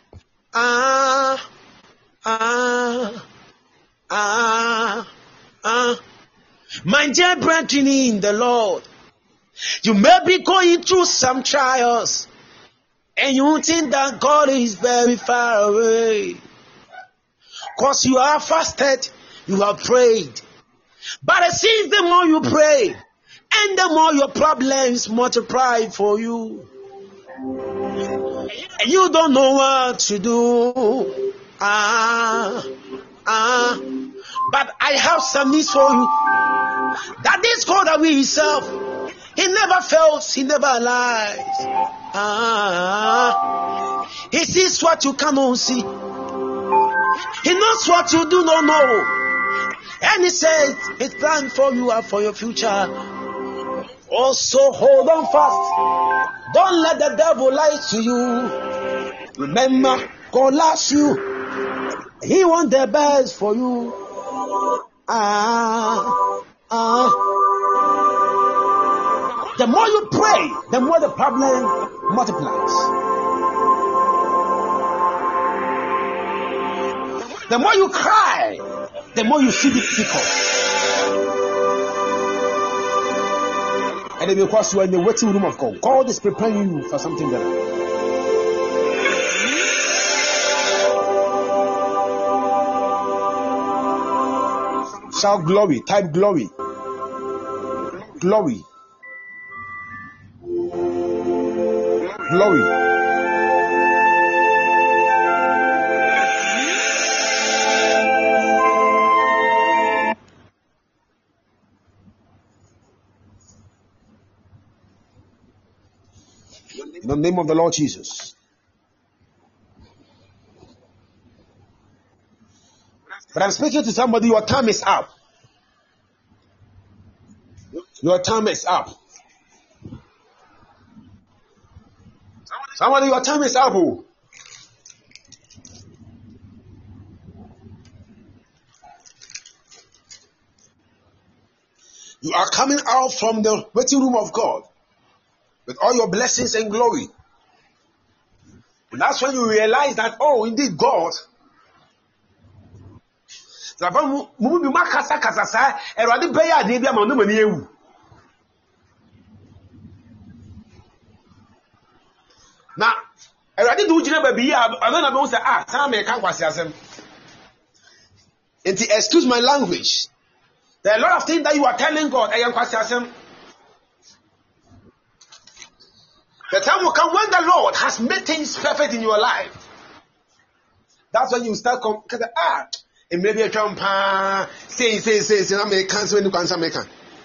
My dear brethren in the Lord, you may be going through some trials. And you think that God is very far away. Because you are fasted, you have prayed. But it seems the more you pray, and the more your problems multiply for you. And you don't know what to do. But I have some news for you. That this God that we serve, He never fails, He never lies. He sees what you cannot see. He knows what you do not know. And He says His plan for you are for your future. Also hold on fast. Don't let the devil lie to you. Remember, God loves you. He wants the best for you. The more you pray, the more the problem multiplies. The more you cry, the more you see it difficult. And then because you are in the waiting room of God, God is preparing you for something better. Shout glory, type glory. Glory. Glory. In the name of the Lord Jesus. But I'm speaking to somebody, your time is up. Your time is up. Somebody, your time is up. Oh. You are coming out from the waiting room of God with all your blessings and glory. And that's when you realize that, oh, indeed, God. Now, already do you know baby? I don't know say time I can't kwasiasem. Excuse my language. There are a lot of things that you are telling God. I am kwasiasem. The time will come when the Lord has made things perfect in your life. That's when you start and maybe a jump say American when you can American.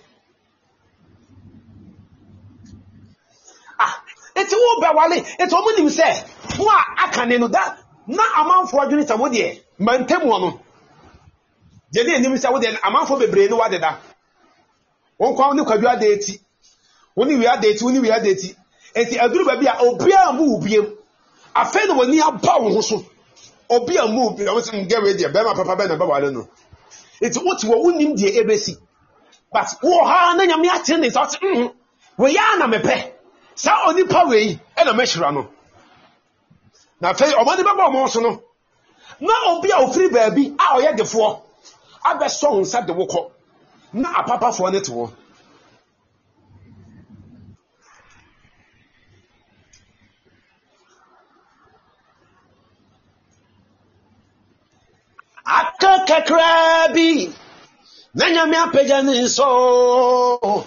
It's all Bawale, it's all you say. Why I can know that? Not a man for doing some wood, Mantemono. The name is a man for the brain, what did that? One crown look at your deity. Only we are deity, only we are deity. And the Agru Babia, Obia move him. I fed when you are power, Obia move, I wasn't get ready, Bama Papa Ben, I don't know. It's what you won't need the ABC. But, oh, how many of me attend is out. We are not a pay. Sa oni power yi e na mehira no na fe omani baba mo so no na obi a ofiri baabi a oye defo abeso hunsa de wokọ na apapa fo ne to akakakrabi na nyame apagya ne so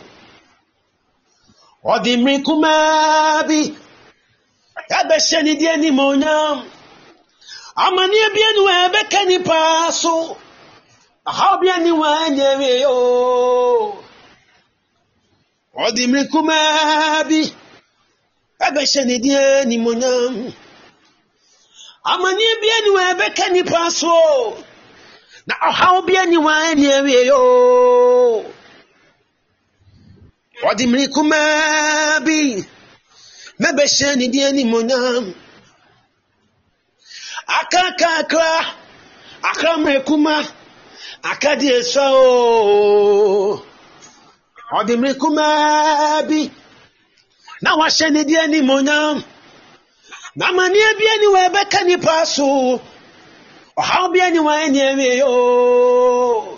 Odimri kumabi Abesheni dieni monyam Amani bienu ebeka ni paso Ahabieni wanyewe yo Odimri kumabi Abesheni dieni monyam Amani bienu ebeka ni paso Na ahabieni wanyewe yo Odimri kumabi Mebesheni dieni monyam Akakakra Akramre kuma Akadi eso Odimri kumabi Na washeni dieni monyam Na mani bieni webeka ni paso Ohaw bieni wanyewe yo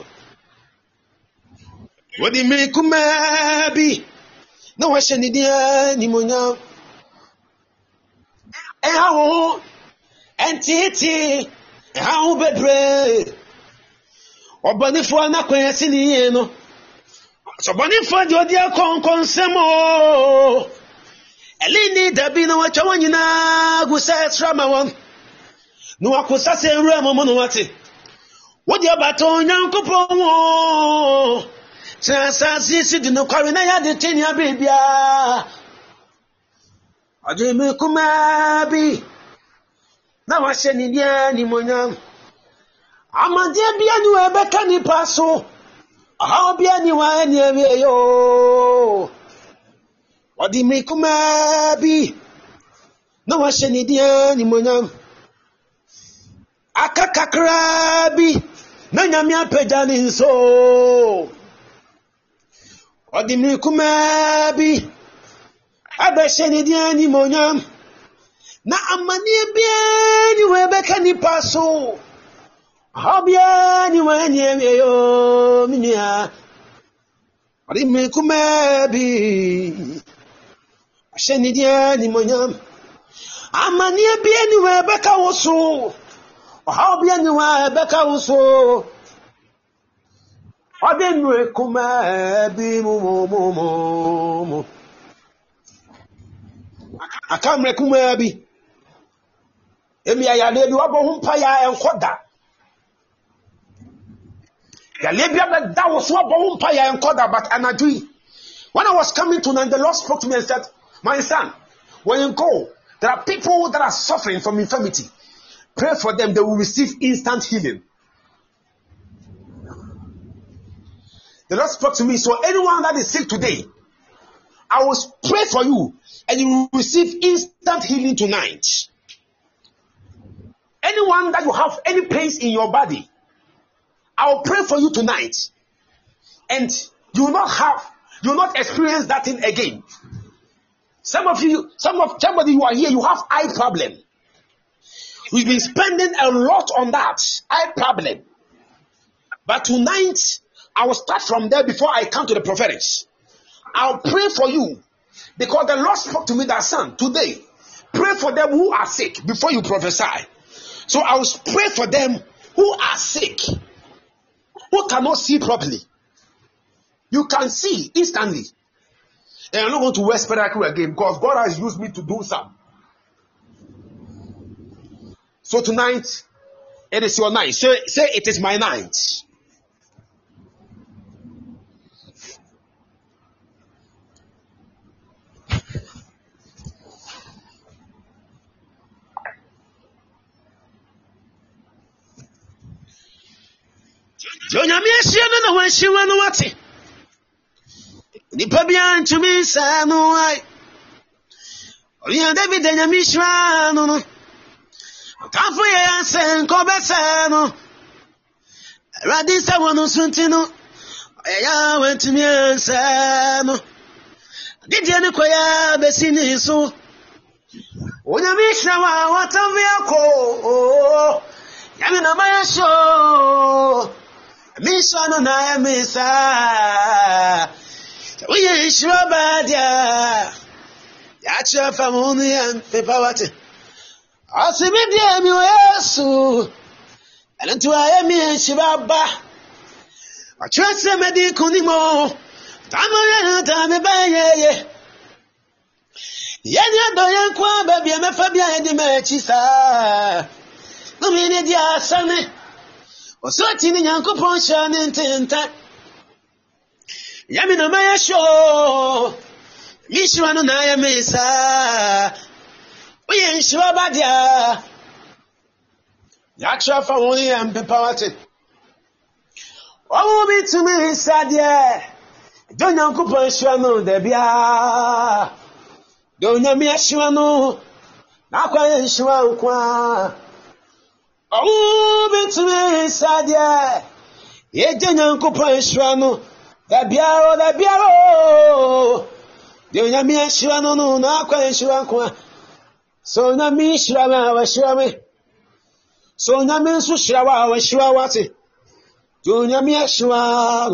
Odimri kumabi Na washeni dieni monyam Ehawo Entiti Ehawo bebre Obanifo na kwesi ni no Obanifo di odi akonkonsemo Elini dabi na wacha wanyina gusa trama won No akosa se ewura momo no wate Wodi abato nyankopon wo Transa si di no kware na ya de tenia bebia Odimri kumabi Na washeni dieni monyam Amade bia ni webeka ni paso Ahaw bia ni wanyewe yo Odimri kumabi Na washeni dieni monyam Akakakrabi Na nyame apagya ne nso Odimri kumabi Abesheni dieni monyam Na amani bia ni webeka ni paso Habia ni wanyewe yo minia Odimri kumabi Asheni dieni monyam Amani bia ni webeka woso Habia ni webeka woso Odimri kumabi mo Akamre kumabi Emi ayale bi wabo humpa ya enkoda Ya lebia be da wo so wabo humpa ya enkoda but anadui When I was coming to and the Lord spoke to me and said, my son, When you go, there are people that are suffering from infirmity. Pray for them, they will receive instant healing. The Lord spoke to me. So anyone that is sick today, I will pray for you and you will receive instant healing tonight. Anyone that you have any pains in your body, I will pray for you tonight and you will not experience that thing again. Somebody you are here, you have eye problem. We've been spending a lot on that eye problem. But tonight, I will start from there before I come to the prophetics. I'll pray for you because the Lord spoke to me that, son, today, pray for them who are sick before you prophesy. So I will pray for them who are sick, who cannot see properly. You can see instantly. And I'm not going to wear spectacle again because God has used me to do some. So tonight, it is your night. Say it is my night. Nipa bia ntumi sa no ai Oya David nyamishwa no Kafu ye sen ko besa no Radi sa wonu sunti no Oya wentumi ansa no Didi ne koya besi ni so Onyamishwa wa watamia ko Yami na mayasho Misha no na emisa We sure bad ya. Yacha famuni and pepawate. Asimedia mi yesu. Alantu ayemi shibaba. Achwese medi kunimo. Tamoya tame baye. Yenya doyen kwa baby me fabia edi mechisa. Numini dia sane. Osoti ni nyankopon sha ni ntinta. Yami na maya show. Mishwa no na yamisa. Oye nshwa badia. Yacha fa woni am pepawate. Owo bi to me sadie. Do nyankopon shwa no da bia. Do nyame shwa no. Na kwa nshwa nkwa. Owo bi to me sadie. Ye do nyankopon shwa no. Da biaro. De nyame ahira no na akwa ahira nkwa. So nyame ahira wa ahira me. So nyame nso ahira wa ahira wate. De nyame ahira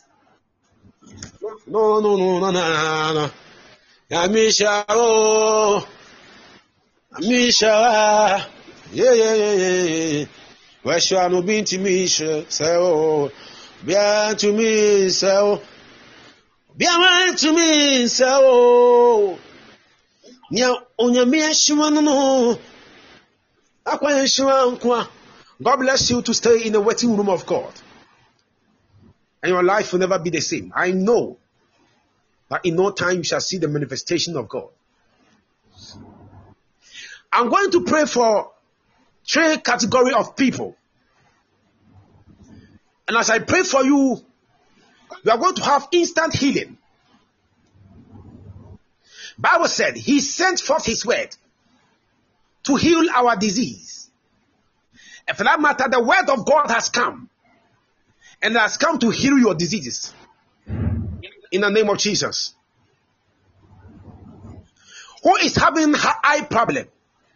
no. No. Nyame ahira o. Nyame ahira. Yeah. Wa ahira no binti mi ahira say o. Bia to me so. Bia to me so. Nya onyame ahima no. Akwa ahima nkwa. God bless you to stay in the waiting room of God. And your life will never be the same. I know that in no time you shall see the manifestation of God. I'm going to pray for 3 categories of people. And as I pray for you, you are going to have instant healing. Bible said he sent forth his word to heal our disease. And for that matter, the word of God has come. And has come to heal your diseases. In the name of Jesus. Who is having eye problem?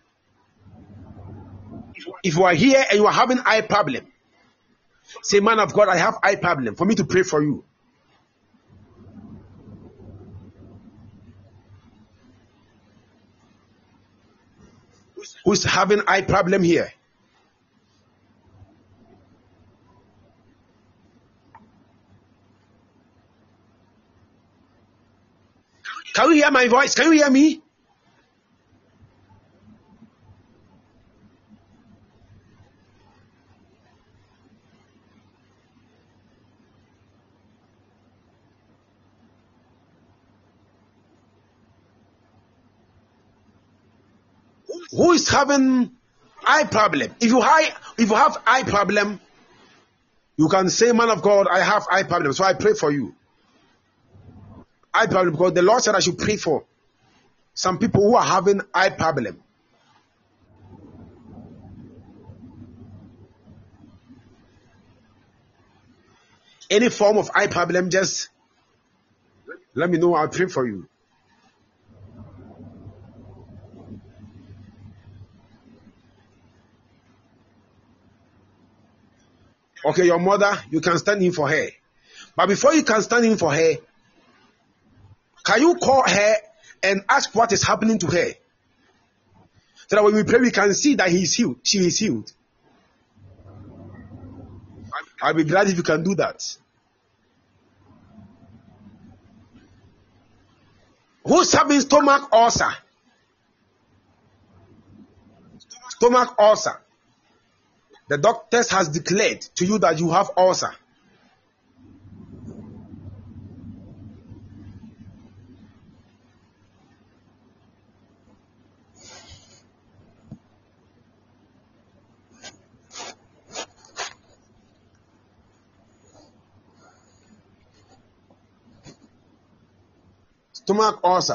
If you are here and you are having eye problem, say, man of God, I have eye problem. For me to pray for you. Who's having eye problem here? Can you hear my voice? Can you hear me? Who is having eye problem? If you have eye problem, you can say, man of God, I have eye problem, so I pray for you. Eye problem, because the Lord said I should pray for some people who are having eye problem. Any form of eye problem, just let me know. I'll pray for you. Okay, your mother, you can stand in for her. But before you can stand in for her, can you call her and ask what is happening to her? So that when we pray, we can see that he is healed. She is healed. I'll be glad if you can do that. Who's having stomach ulcer? Stomach ulcer. The doctors has declared to you that you have ulcer. Stomach ulcer.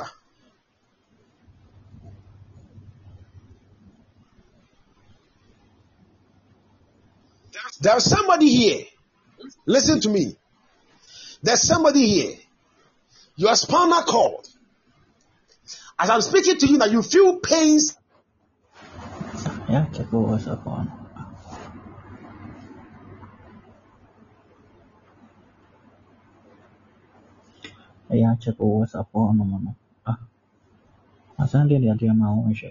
There's somebody here. Listen to me. There's somebody here. Your spinal cord. As I'm speaking to you now, you feel pains. Yeah, check what's up on. Yeah, check what's up on. No. I send you the my own shit.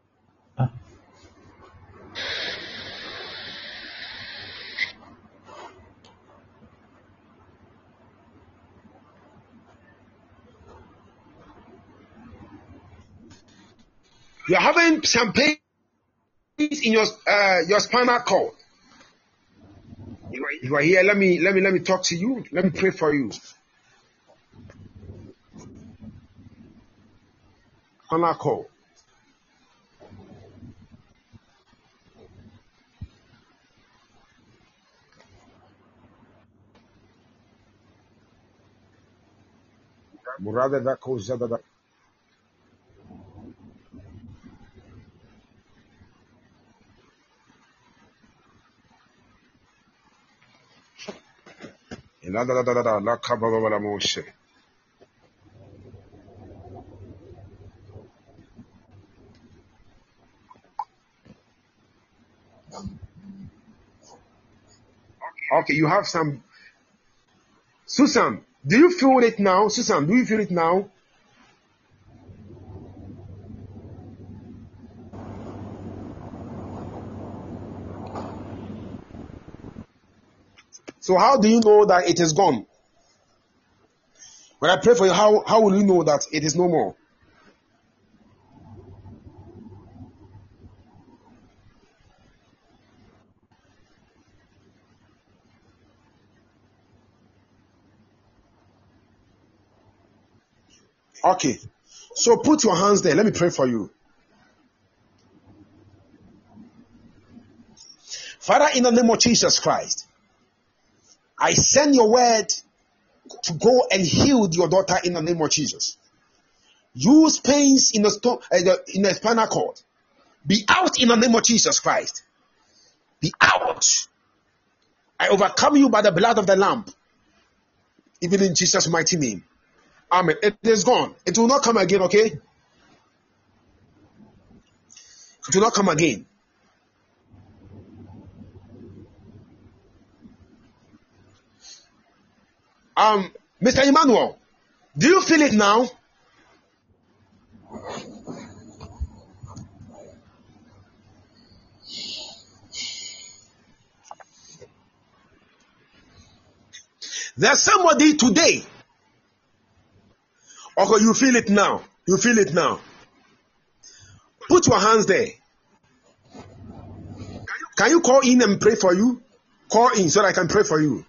You're having some pains in your spinal cord. You are here. Let me talk to you. Let me pray for you. Spinal cord. Murada da coisa da. La kababa la moshe. Okay, you have some. Susan, do you feel it now? Susan, do you feel it now? So how do you know that it is gone? When I pray for you, how will you know that it is no more? Okay. So put your hands there. Let me pray for you. Father, in the name of Jesus Christ, I send your word to go and heal your daughter in the name of Jesus. Use pains in the spinal cord. Be out in the name of Jesus Christ. Be out. I overcome you by the blood of the Lamb. Even in Jesus' mighty name. Amen. It is gone. It will not come again, okay? It will not come again. Mr. Emmanuel, do you feel it now? There's somebody today. Okay, you feel it now. You feel it now. Put your hands there. Can you call in and pray for you? Call in so that I can pray for you.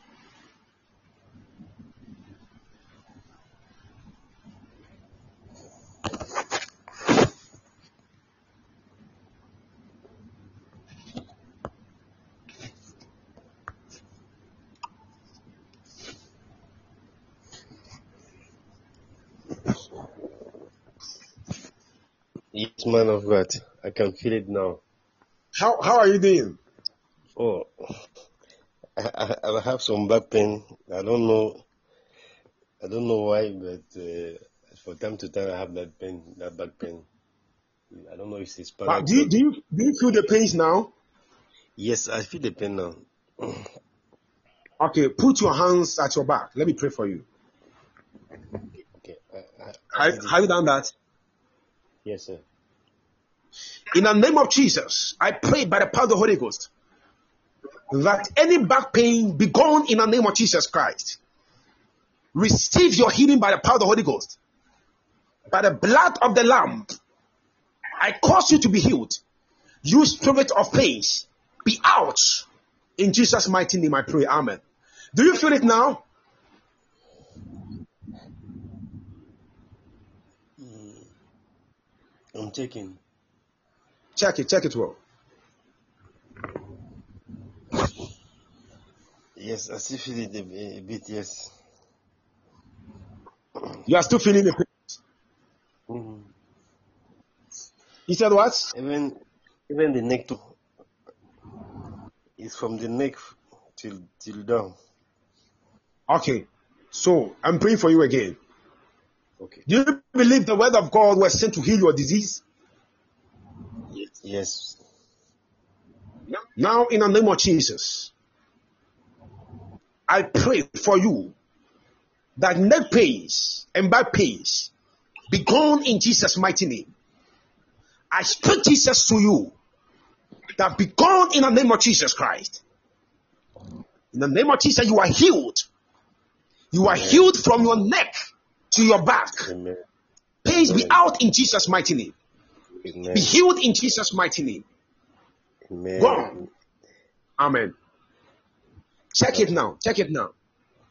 Yes, man of God. I can feel it now. How are you doing? Oh, I have some back pain. I don't know why, but from time to time I have that back pain. I don't know if it's But spinal do you cord. do you do you feel the pains now? Yes, I feel the pain now. Okay, put your hands at your back. Let me pray for you. Okay, I did Have you it. done that? Yes, sir. In the name of Jesus, I pray by the power of the Holy Ghost that any back pain be gone in the name of Jesus Christ. Receive your healing by the power of the Holy Ghost. By the blood of the Lamb, I cause you to be healed. You spirit of pains, be out. In Jesus' mighty name I pray. Amen. Do you feel it now? I'm checking. Check it well. Yes, I still feel it a bit. Yes. You are still feeling the pain. Mhm. He said what? Even the neck too. It's from the neck till down. Okay. So I'm praying for you again. Okay. Do you believe the word of God was sent to heal your disease? Yes. Now, in the name of Jesus, I pray for you that neck pains and back pains be gone in Jesus' mighty name. I speak Jesus to you that be gone in the name of Jesus Christ. In the name of Jesus, you are healed. You are Amen. healed from your neck to your back. Amen. Pains be Amen. out in Jesus' mighty name. Be Amen. healed in Jesus' mighty name. Amen. Gone. Amen. Check it Okay. now. Check it now.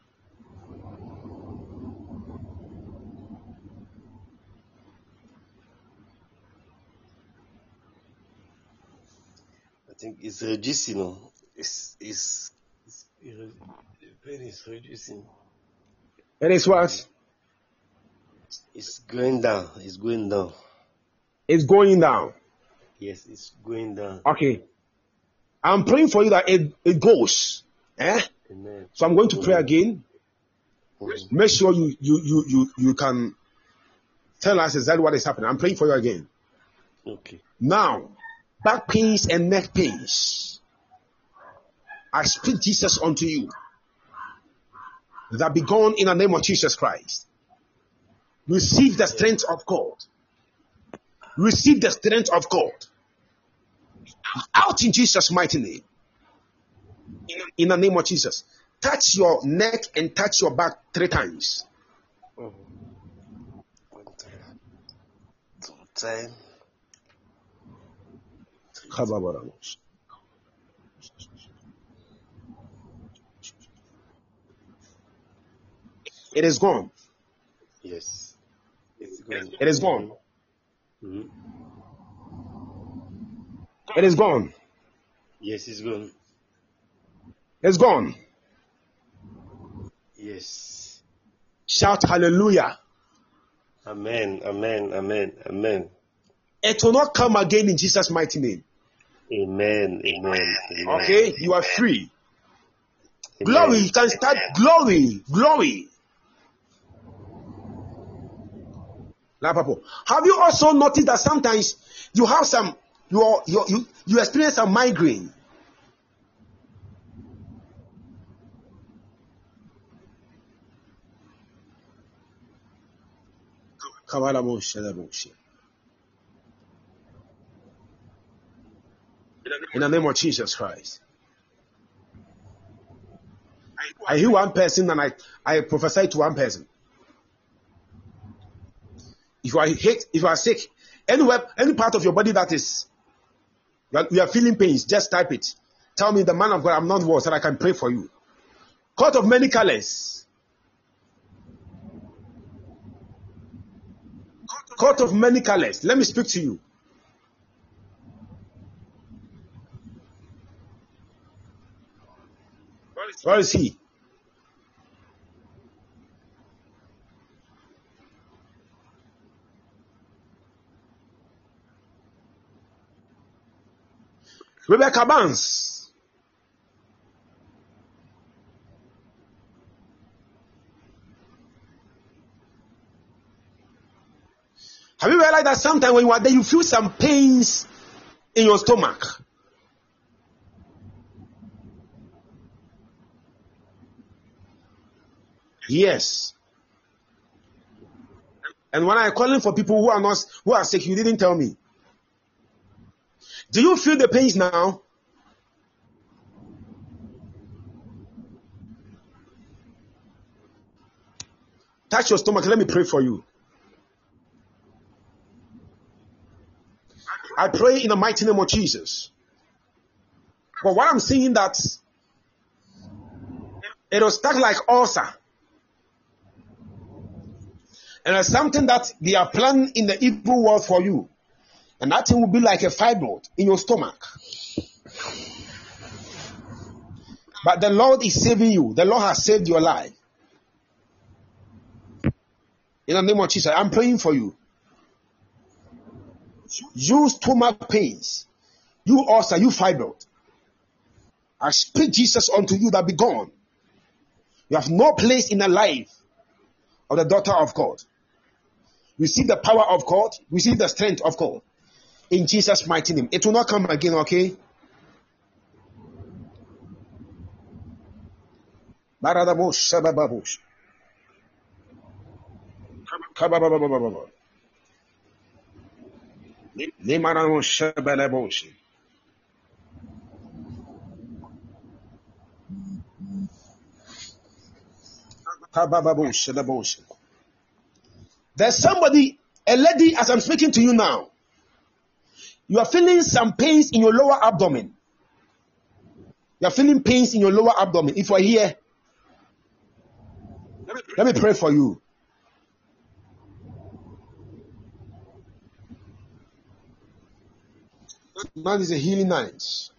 I think it's reducing. The pain is reducing. It is what? It's going down. It's going down. It's going down. Yes, it's going down. Okay. I'm praying for you that it goes. Amen. So I'm going to pray Amen. again. Mhm. Make sure you can tell us exactly what is happening. I'm praying for you again. Okay. Now, back pains and neck pains, I speak Jesus unto you that be gone in the name of Jesus Christ. Receive the strength of God. Receive the strength of God. Out in Jesus' mighty name. In the name of Jesus. Touch your neck and touch your back 3 times. Mhm. 1 time, 2 time, 3 time. It is gone. Yes, it's going. It is gone. Mhm. It is gone. Yes, it's gone. It's gone. Yes. Shout hallelujah. Amen. Amen. Amen. Amen. It will not come again in Jesus' mighty name. Amen. Amen. Amen. Okay? You are free. Amen. Glory. You can start glory. Glory. Now, Papa, have you also noticed that sometimes you have you experience some migraine? In the name of Jesus Christ. I hear one person and I prophesy to one person. If you are sick, anywhere, any part of your body that is, you are feeling pains, just type it. Tell me, the man of God, I'm not well, so I can pray for you. Coat of many colors. Coat of many colors. Let me speak to you. Where is he? Rebecca Barnes. Have you realized that sometimes when you are there, you feel some pains in your stomach? Yes. And when I calling for people who are sick, you didn't tell me. Do you feel the pains now? Touch your stomach. Let me pray for you. I pray in the mighty name of Jesus. But what I'm seeing that it was stuck like ulcer. And there's something that they are planning in the evil world for you. And that thing will be like a fibroid in your stomach. But the Lord is saving you. The Lord has saved your life. In the name of Jesus, I'm praying for you. You stomach pains, you ulcer, you fibroid. I speak Jesus unto you that be gone. You have no place in the life of the daughter of God. Receive the power of God. Receive the strength of God. In Jesus' mighty name. It will not come again, okay? There's somebody, a lady, as I'm speaking to you now, you are feeling some pains in your lower abdomen. You are feeling pains in your lower abdomen. If you are here, let me pray for you. Now is a healing night.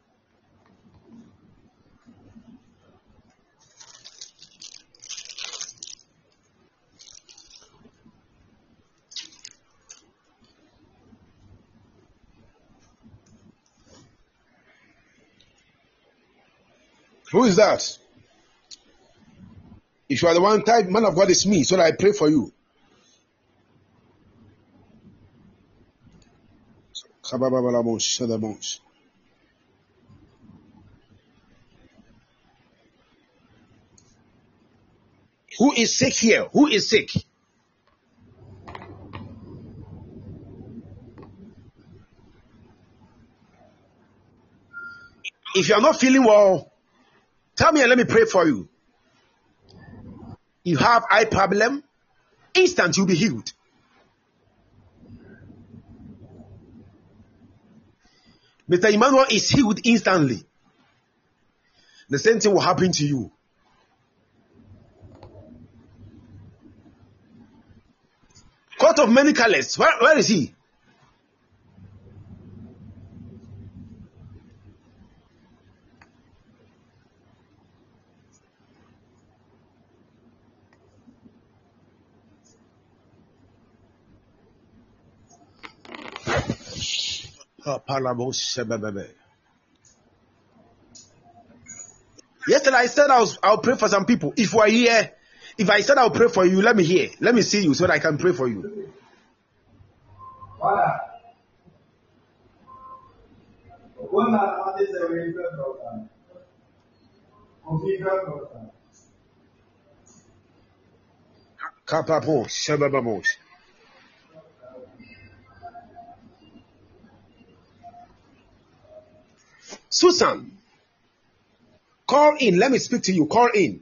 Who is that? If you are the one type, man of God, is me, so that I pray for you. Who is sick here? Who is sick? If you are not feeling well, tell me and let me pray for you. You have eye problem, instant you'll be healed. Mr. Emmanuel is healed instantly. The same thing will happen to you. Court of many colors. Where is he? Yesterday I said I'll pray for some people. If you are here, if I said I'll pray for you, let me hear. Let me see you so that I can pray for you. Susan, call in. Let me speak to you. Call in.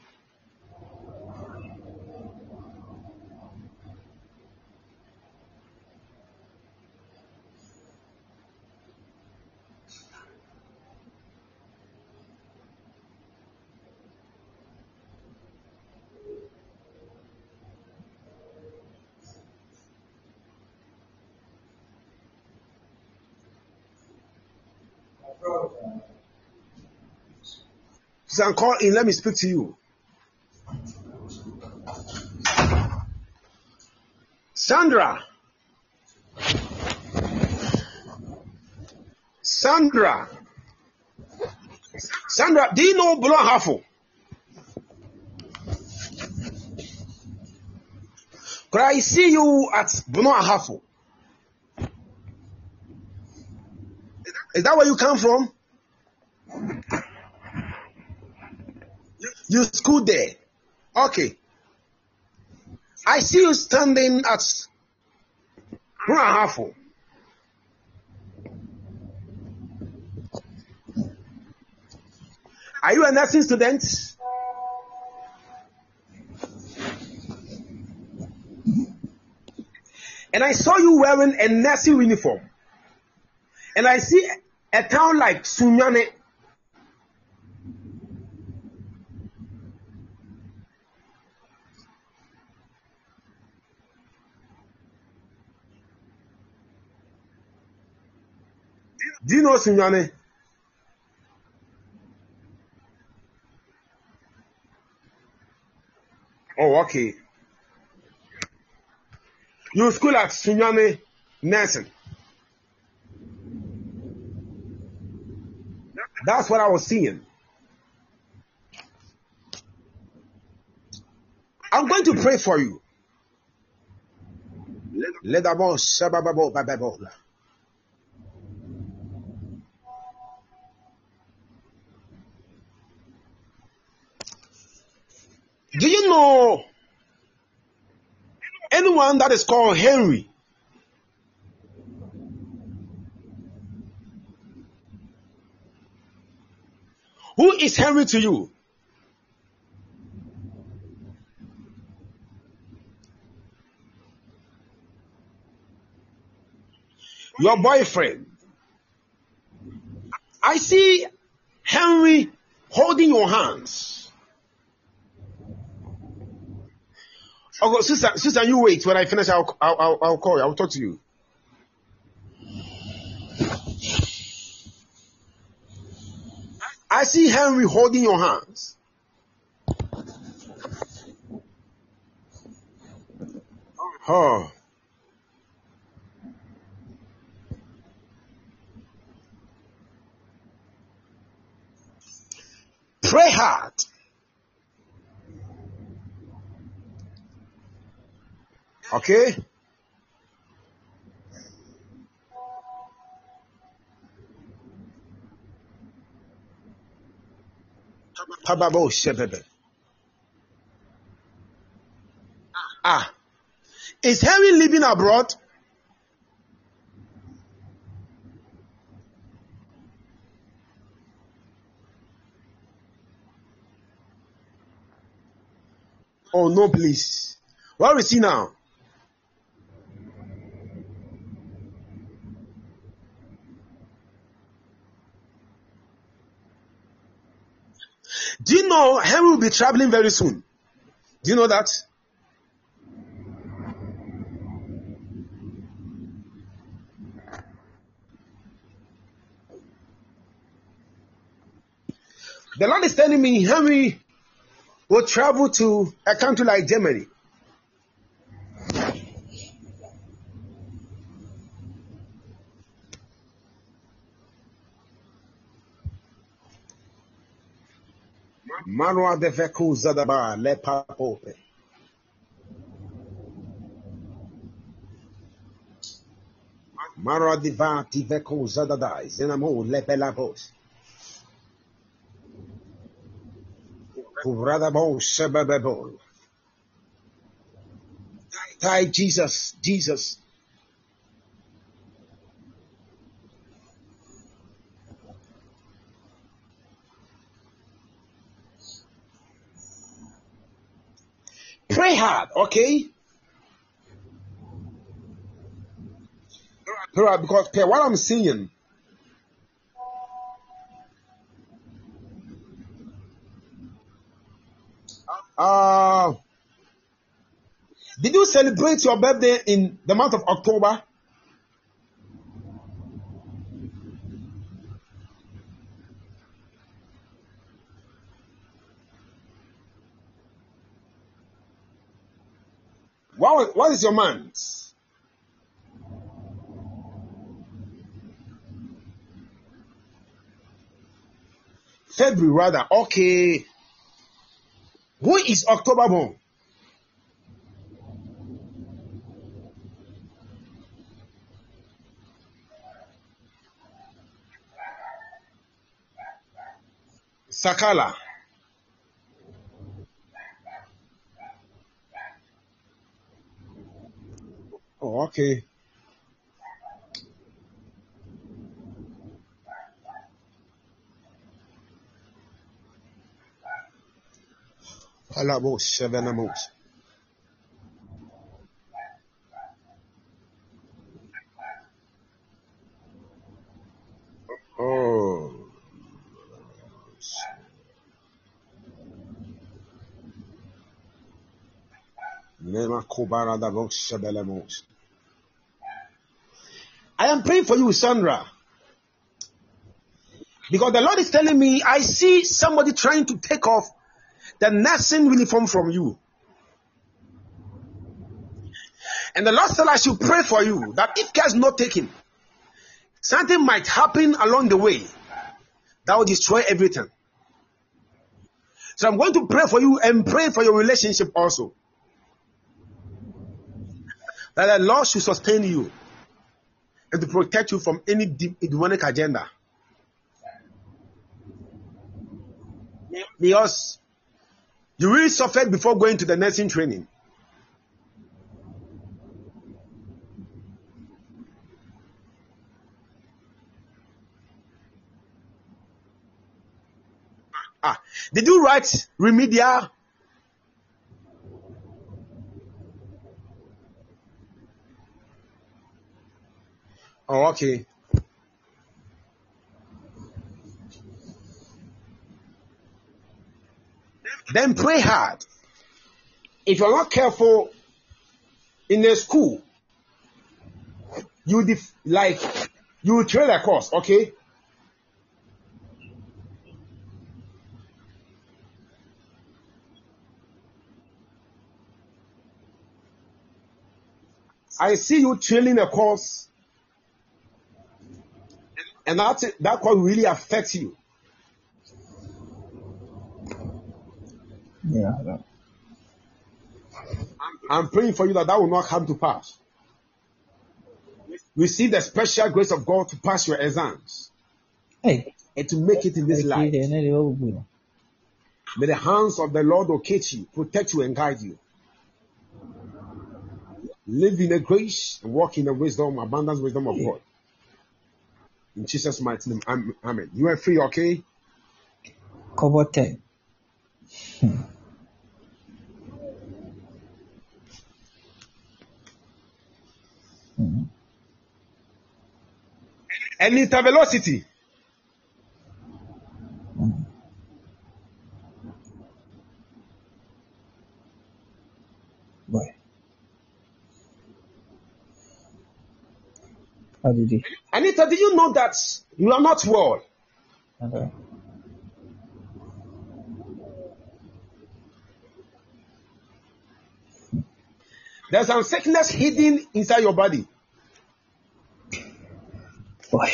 Susan, call in. Let me speak to you. Sandra, do you know Bulo Ahafo? Could I see you at Bulo Ahafo? Is that where you come from? You school there? Okay. I see you standing at Bulo Ahafo. Are you a nursing student? And I saw you wearing a nursing uniform. And I see a town like Sunyane. Do you know Sunyane? Oh, okay. You school at Sunyane Nursing. That's what I was seeing. I'm going to pray for you. Do you know anyone that is called Henry? Who is Henry to you? Your boyfriend. I see Henry holding your hands. Okay, sister, you wait. When I finish, I'll call you. I'll talk to you. I see Henry holding your hands. Oh. Pray hard. Okay? Tababo Shebebe. Is Henry living abroad? Oh no, please. Where is he now? Do you know Henry will be traveling very soon? Do you know that? The Lord is telling me Henry will travel to a country like Germany. Marwa de Veku Zadaba le papope. Marwa de Veku Zadadai Zenamo le pelabos. Kuradabo Sebebebo. Tai Jesus. Pray hard, okay? Pray hard because what I'm seeing. Did you celebrate your birthday in the month of October? What is your month? February rather. Okay. Who is October born? Sakala. Oh, okay. Palamos, Sevenamos. Oh. Nema Kobara Davos Sebelemos. I am praying for you, Sandra. Because the Lord is telling me, I see somebody trying to take off the nursing uniform from you. And the Lord said I should pray for you that if care is not taken, something might happen along the way that will destroy everything. So I'm going to pray for you and pray for your relationship also. That the Lord should sustain you and to protect you from any demonic agenda. Because you really suffered before going to the nursing training. Did you write remedial? Oh, okay. Then pray hard. If you're not careful in a school, you will trail a course, okay? I see you trailing a course, and that course really affects you. Yeah. I'm praying for you that will not come to pass. Receive the special grace of God to pass your exams. Hey. And to make it in this life. May the hands of the Lord locate you, protect you, and guide you. Live in the grace and walk in the wisdom, abundant wisdom of God. In Jesus' mighty name, amen. You are free, okay? Cover 10. And intervelocity. Why? How did he? Anita, did you know that you are not well? Okay. There's some sickness hidden inside your body. Why?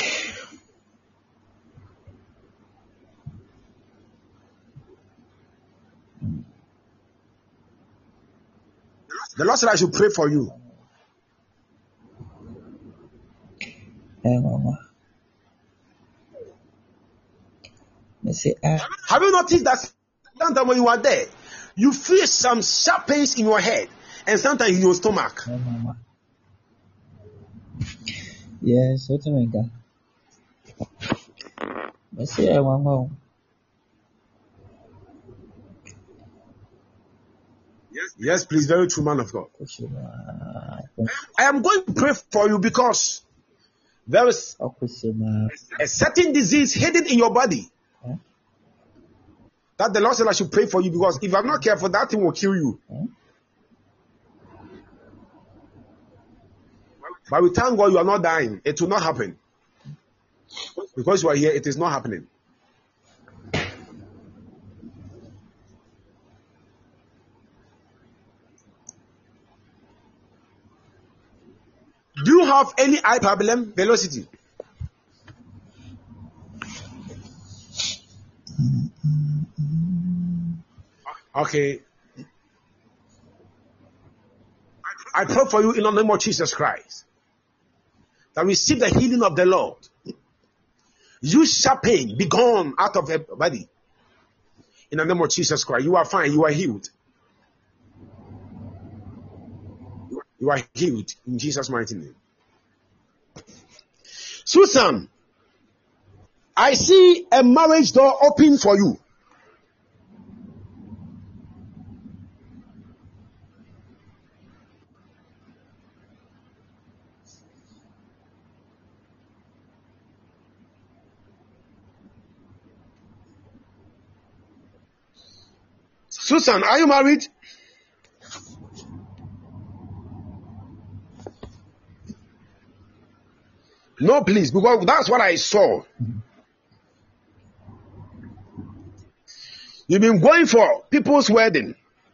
The Lord said I should pray for you. Hey, Mama. Have you noticed that sometimes when you are there, you feel some sharp pains in your head and sometimes in your stomach? Hey, Mama. Yes, what do you mean? I say I want home. Yes, please, very true, man of God. I am going to pray for you because there is a certain disease hidden in your body. That the Lord said I should pray for you because if I'm not careful, that thing will kill you. But we thank God you are not dying. It will not happen. Because you are here, it is not happening. Do you have any eye problem? Velocity. Okay. I pray for you in the name of Jesus Christ. That receive the healing of the Lord. You shall pain be gone out of your body. In the name of Jesus Christ. You are fine. You are healed. You are healed in Jesus' mighty name. Susan, I see a marriage door open for you. Susan, are you married? No, please, because that's what I saw. You've been going for people's wedding.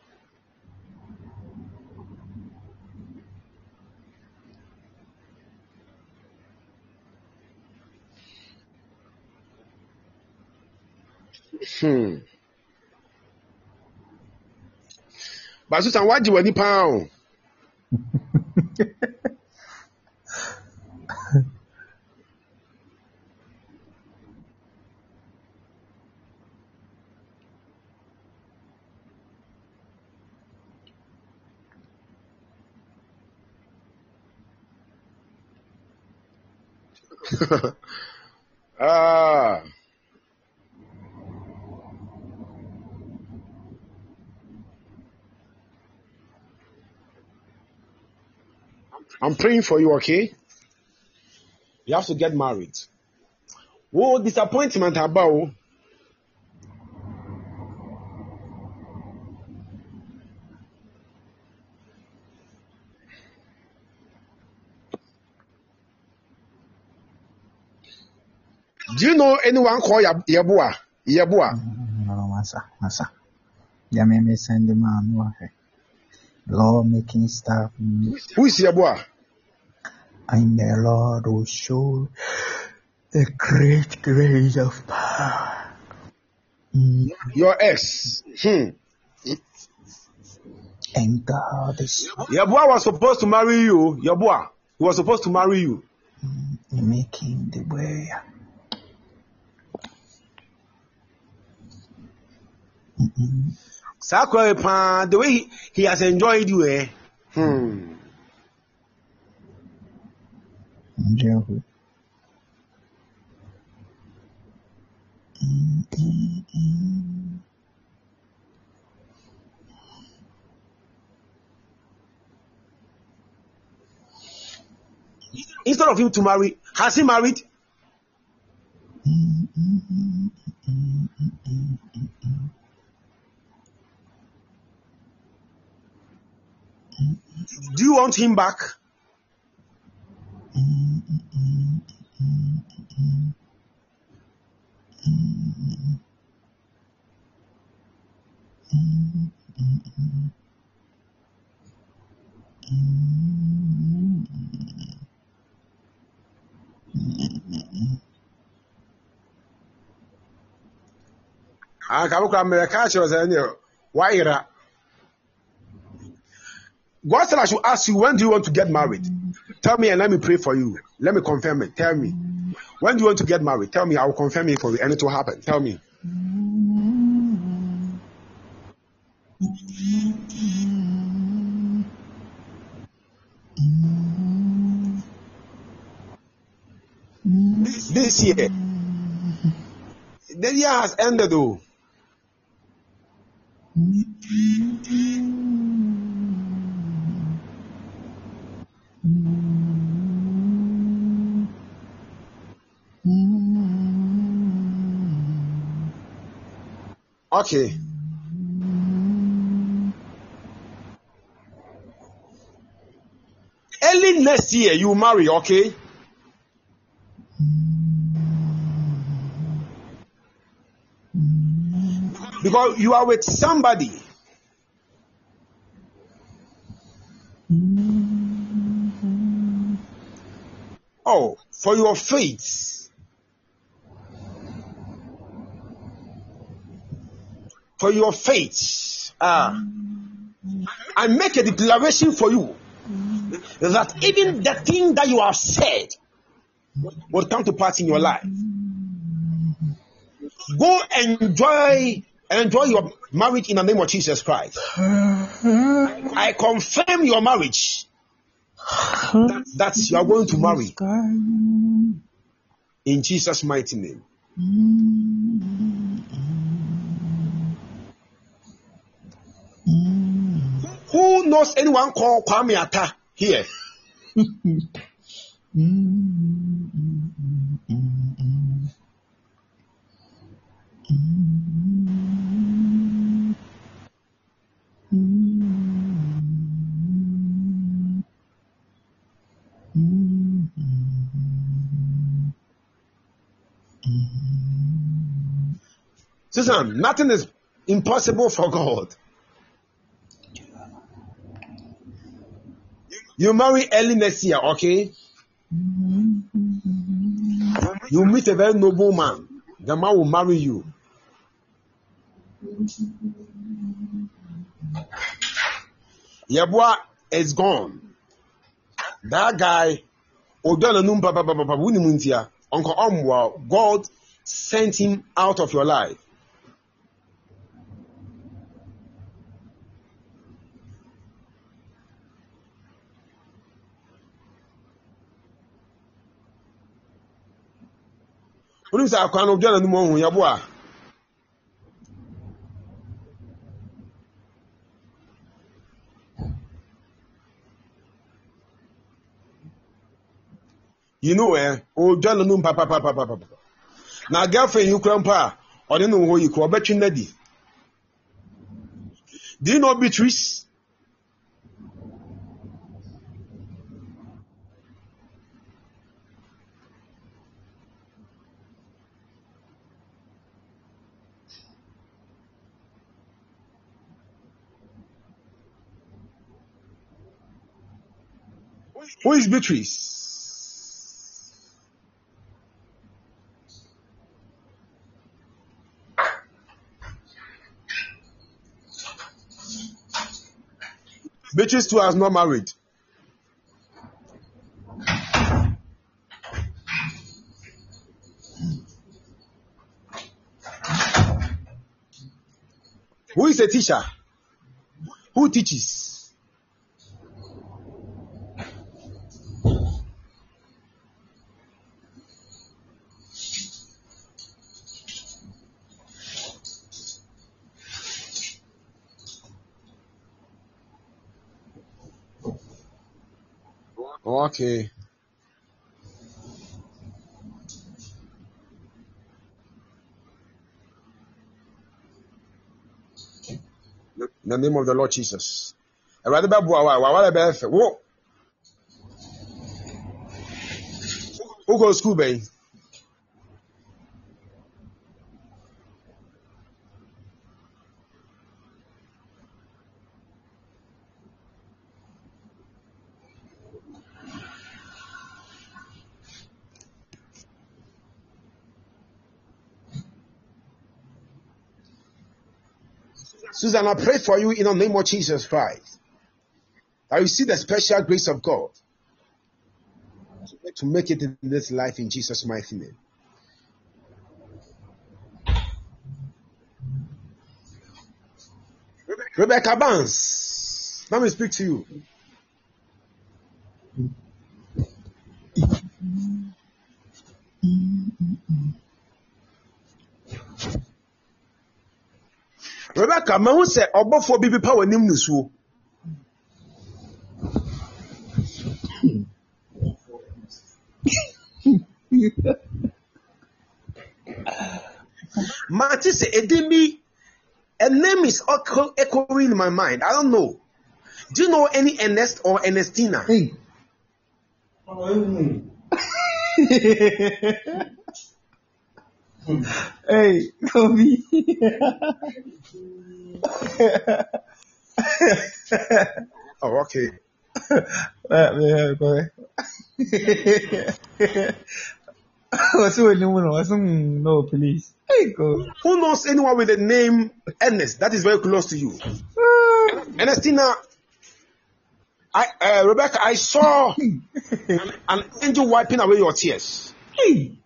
But Susan, what do you want to pound? I'm praying for you, okay? You have to get married. Oh, disappointment about. Do you know anyone called Yabua? Yabua? No, massa. Yameme send the man law making stuff. Who is Yabua? And the Lord will show the great grace of power. Your ex. And God is Yabua was supposed to marry you. Yabua. He was supposed to marry you. making the way. Sakwa, the way he has enjoyed you, eh? Jehu. Instead of him to marry, has he married? Do you want him back? God said I should ask you, when do you want to get married? Tell me and let me pray for you. Let me confirm it. Tell me. When do you want to get married? Tell me, I will confirm it for you and it will happen. Tell me. This year. The year has ended though. Okay. Early next year, you marry, okay? Because you are with somebody. Oh, for your faith. For your faith. I make a declaration for you that even the thing that you have said will come to pass in your life. Go enjoy your marriage in the name of Jesus Christ. I confirm your marriage that you are going to marry in Jesus' mighty name. Who knows anyone called Kwame Atta here? Susan, nothing is impossible for God. You marry early next year, okay? You meet a very noble man. The man will marry you. Yabua is gone. That guy, Uncle Omwa, God sent him out of your life. You know where? Oh, John, papa. Now, girlfriend, you grandpa, or you know who you call Betty Neddy. Do you know Beatrice? Who is Beatrice? Beatrice too has not married. Who is a teacher? Who teaches? Okay. In the name of the Lord Jesus. Who goes to school, babe? Susan, I pray for you in the name of Jesus Christ. That you see the special grace of God to make it in this life in Jesus' mighty name. Rebecca Barnes, let me speak to you. Rebecca, man, who said, "Obo for baby power nim nusu." Marty said, "Edemi, a name is echoing in my mind. I don't know. Do you know any Ernest or Ernestina?" Hey. Hey, Kobe. Oh, okay. Let me go. No, please. Hey, go. Who knows anyone with the name Ernest that is very close to you? Ernestina, Rebecca, I saw an angel wiping away your tears. Hey.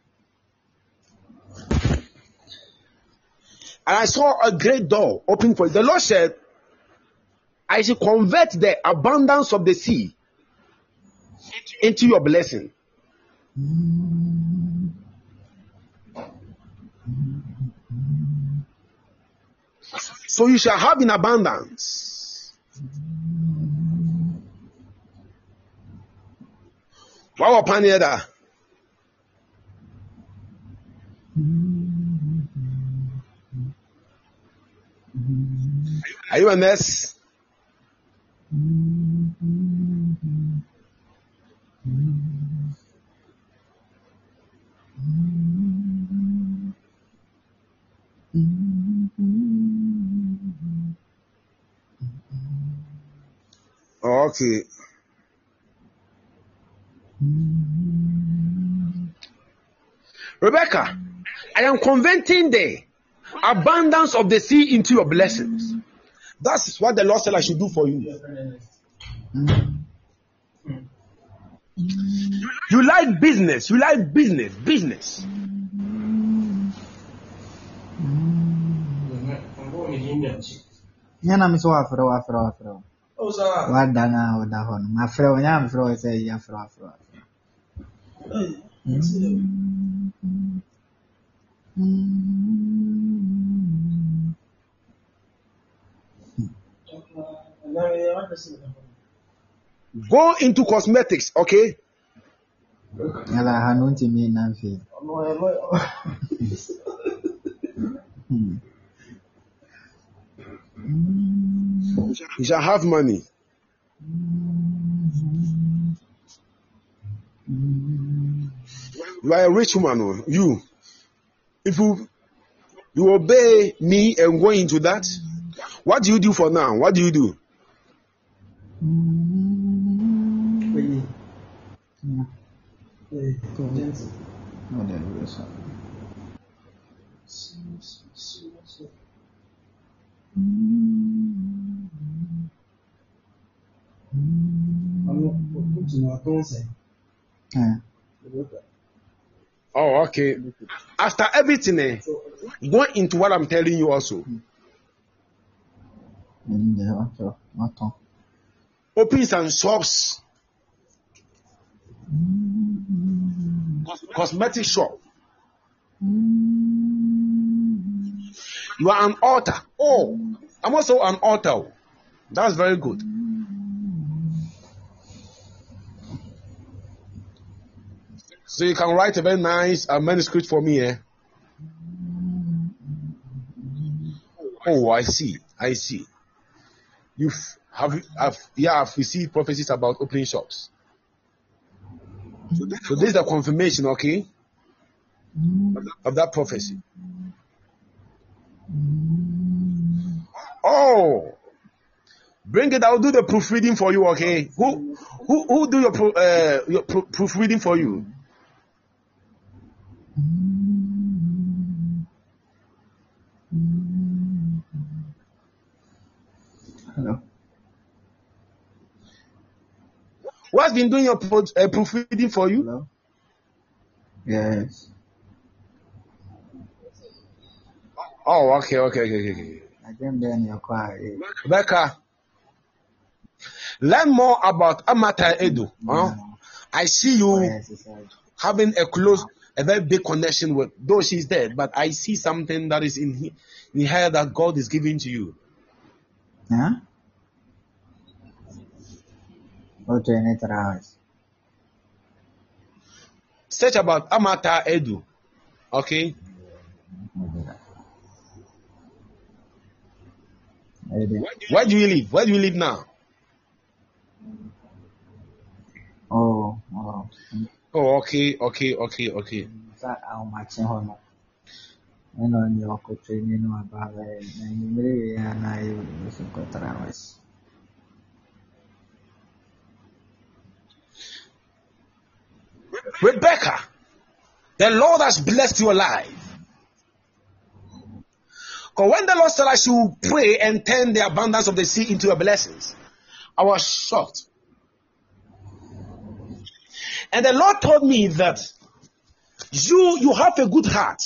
And I saw a great door open for you. The Lord said, I should convert the abundance of the sea into your blessing. So you shall have in abundance. Wow, Panieda. Are you a nurse? Okay. Rebecca, I am converting the abundance of the sea into your blessings. That's what the Lord said I should do for you. You like business. You like business. Nyana mi so afro. Wadana wadahon. Afro nyam afro say afro. Go into cosmetics, okay? Yala hanunti mi nanfi. You shall have money. You are a rich woman, oh. You. If you obey me and go into that, what do you do for now? What do you do? Oh, okay. After everything, go into what I'm telling you also. Open some shops. Cosmetic shop. You are an author. Oh, I'm also an author. That's very good. So you can write a very nice manuscript for me, eh? Oh, I see. I've received prophecies about opening shops. So this is the confirmation, okay, of that prophecy. Oh, bring it. I'll do the proofreading for you, okay? Who do your proofreading for you? Hello. What's been doing your proofreading for you? Hello. Yes. Oh, okay. I think then you're quiet. Becca, learn more about Amata Edu. Huh? I see you having a very big connection with, though she's dead, but I see something that is in her that God is giving to you. Huh? Go to any house. Search about Amata Edu. Okay? Where do you live? Where do you live now? Oh, okay. that how much on your training about and I was Rebecca, The Lord has blessed your life. Because when the Lord said I should pray and turn the abundance of the sea into your blessings, I was shocked. And the Lord told me that you have a good heart.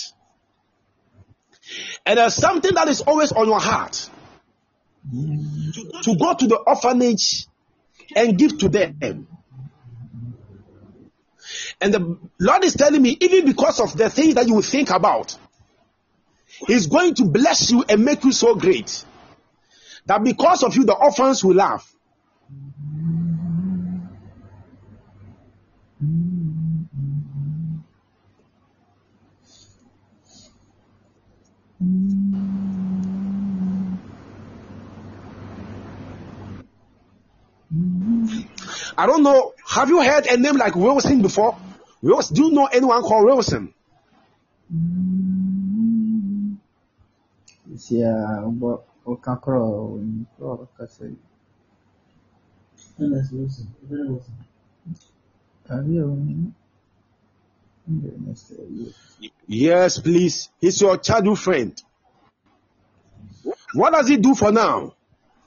And there's something that is always on your heart. To go to the orphanage and give to them. And the Lord is telling me, even because of the things that you will think about, He's going to bless you and make you so great that because of you, the orphans will laugh. I don't know. Have you heard a name like Wilson before? Do you know anyone called Wilson? Yeah, but Okakro, Yes, please. He's your childhood friend. What does he do for now?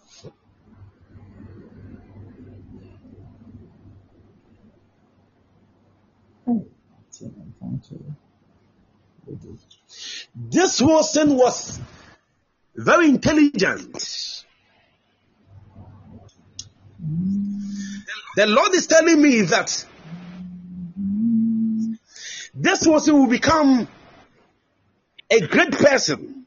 This Wilson was very intelligent. The Lord is telling me that this Wilson will become a great person.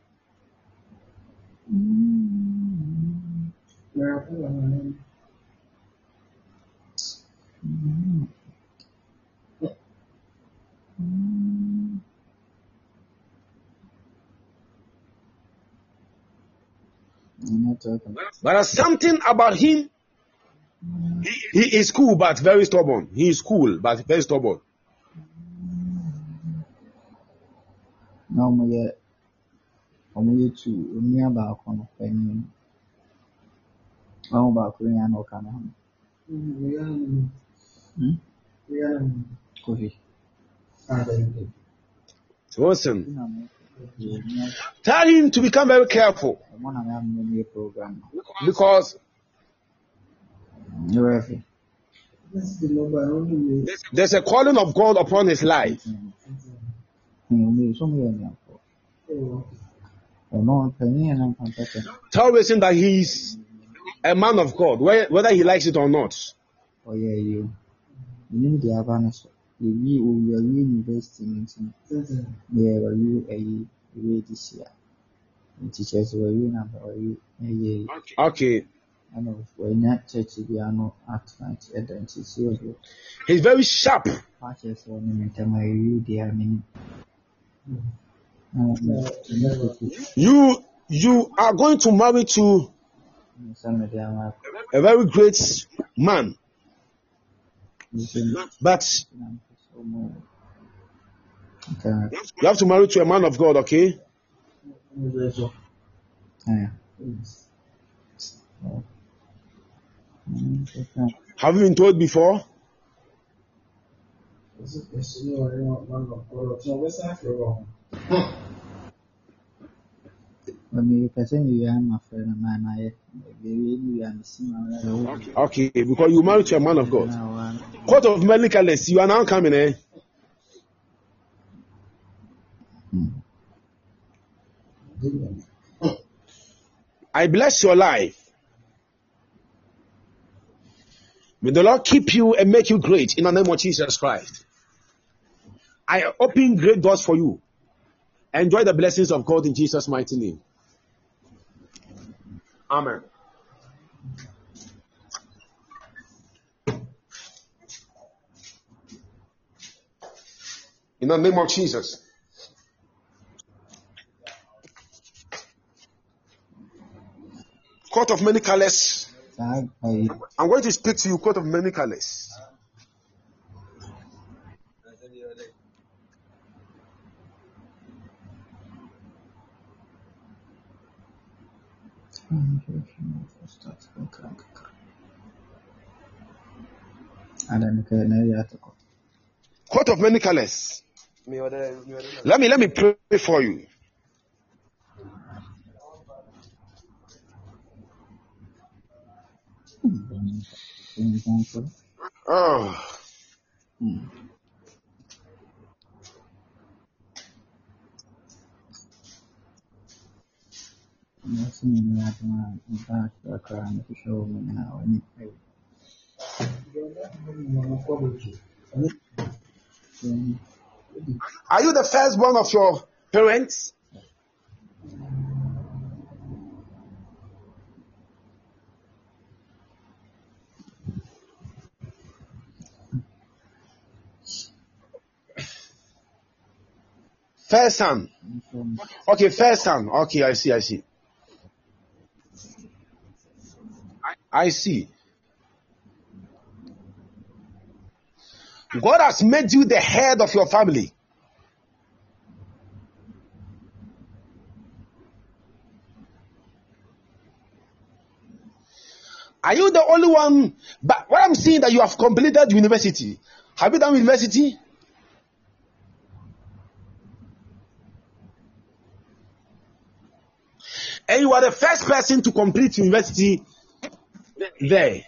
But there's something about him. He is cool but very stubborn. He is cool but very stubborn. No, my to me about on penny. Oh, about Korean or Canada. Listen, tell him to become very careful because there's a calling of God upon his life. Tell him that he's a man of God, whether he likes it or not. Oh yeah, you need the awareness. You investing in you this year. Teachers were you number Okay. I know when that church piano at night and he's very sharp. Patches on you dear me. You are going to marry to a very great man. But you have to marry to a man of God, okay? Have you been told before? Okay, because you married to a man of God. Court of many colors, you are now coming, eh? I bless your life. May the Lord keep you and make you great in the name of Jesus Christ. I open great doors for you. Enjoy the blessings of God in Jesus' mighty name. Amen. In the name of Jesus. Court of many colors. I'm going to speak to you, court of many colors. Court of many colors. Let me pray for you. Oh. Are you the firstborn of your parents? First son. Okay, first son. Okay, I see. I see. God has made you the head of your family. Are you the only one? But what I'm seeing that you have completed university. Have you done university? And you are the first person to complete university there.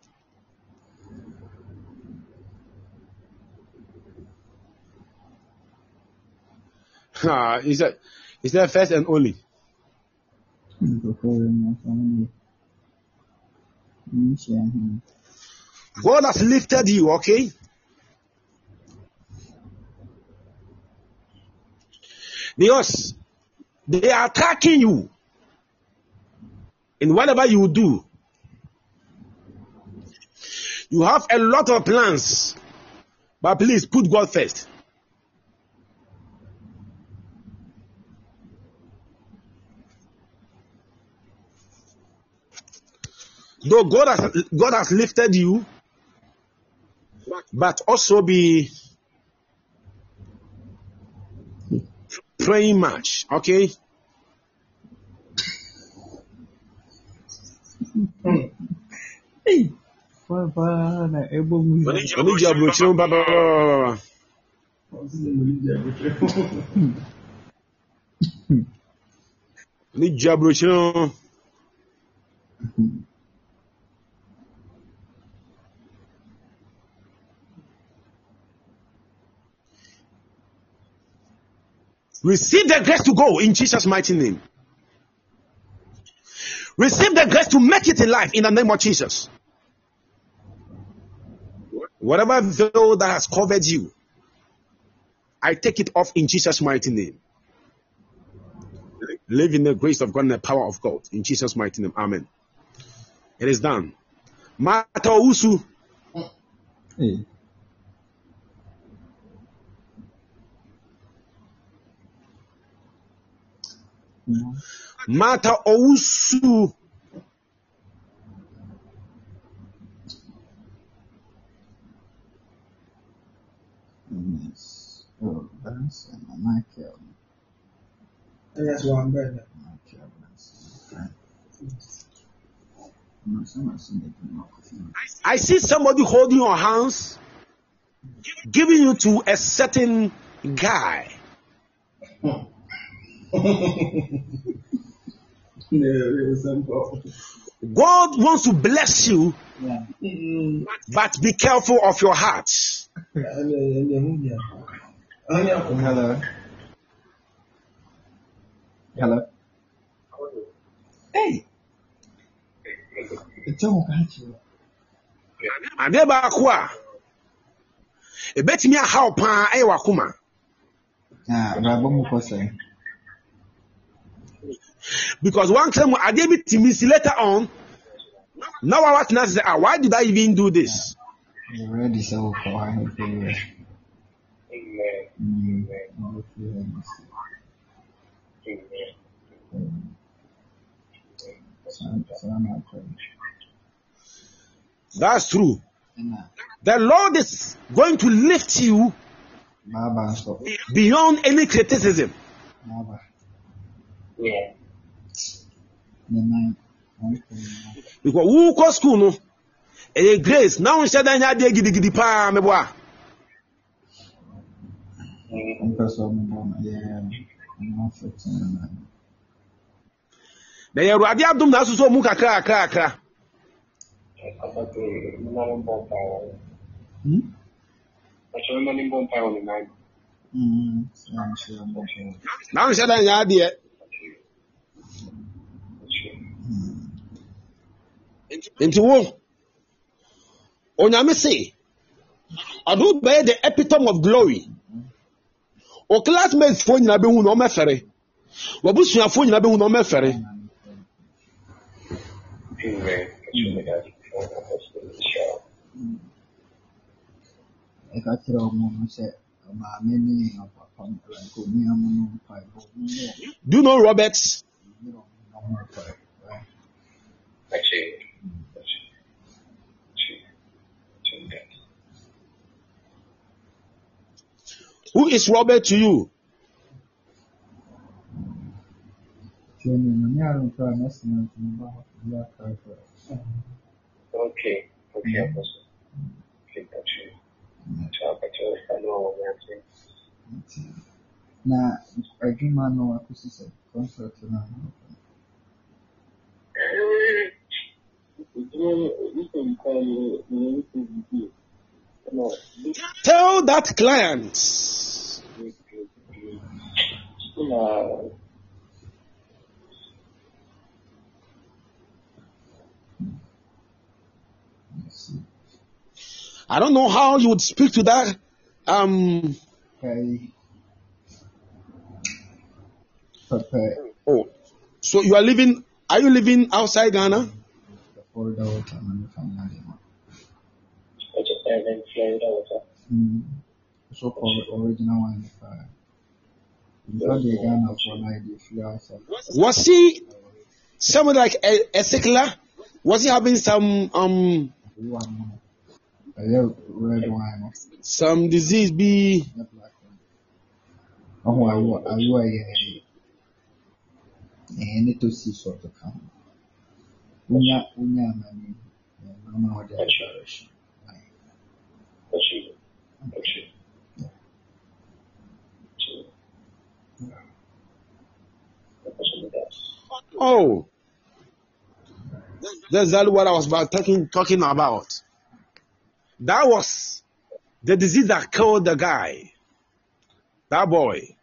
Is that first and only? God has lifted you, okay? Because they are attacking you in whatever you do. You have a lot of plans, but please put God first. Though God has lifted you, but also be praying much, okay? Receive the grace to go in Jesus' mighty name. Receive the grace to make it in life in the name of Jesus. Whatever veil that has covered you, I take it off in Jesus' mighty name. Live in the grace of God and the power of God in Jesus' mighty name. Amen. It is done. Mata Owusu. Mata Owusu. Yes. Oh, that's Michael. That's one better. I see somebody holding your hands, giving you to a certain guy. God wants to bless you, but be careful of your heart. Hello. Hello. Hey. It's all about you. Adeba kwa. Ebetimi aha opa ewa kuma. Rabo mukose. Because one time Adebitimi later on, now I was not say, why did I even do this? You ready so far? Amen. That's true. The Lord is going to lift you beyond any criticism. Because who go school no? A grace now instead of gidi pa me boa. Na yɛ Awurade adom na asoso mu kakra. Na nhyɛ da nyɛ adeɛ. Nti wo Onyame se ado bɛyɛ the epitome of glory. O classmates fo nyina behu na ɔmɛfɛre. Wabusuafo nyina behu na ɔmɛfɛre. Do you know Robert? Who is Robert to you? Okay, Apostle. Okay, got you. Na adwuma no akosi sɛ contract no Tell that client I don't know how you would speak to that Oh, so you are living? Are you living outside Ghana? So called original one. Was he someone like a secular? Was he having some red wine? Some disease be? Any to see sort of come. Unya mani. No other direction. Oh, that's exactly what I was talking about. That was the disease that killed the guy. That boy.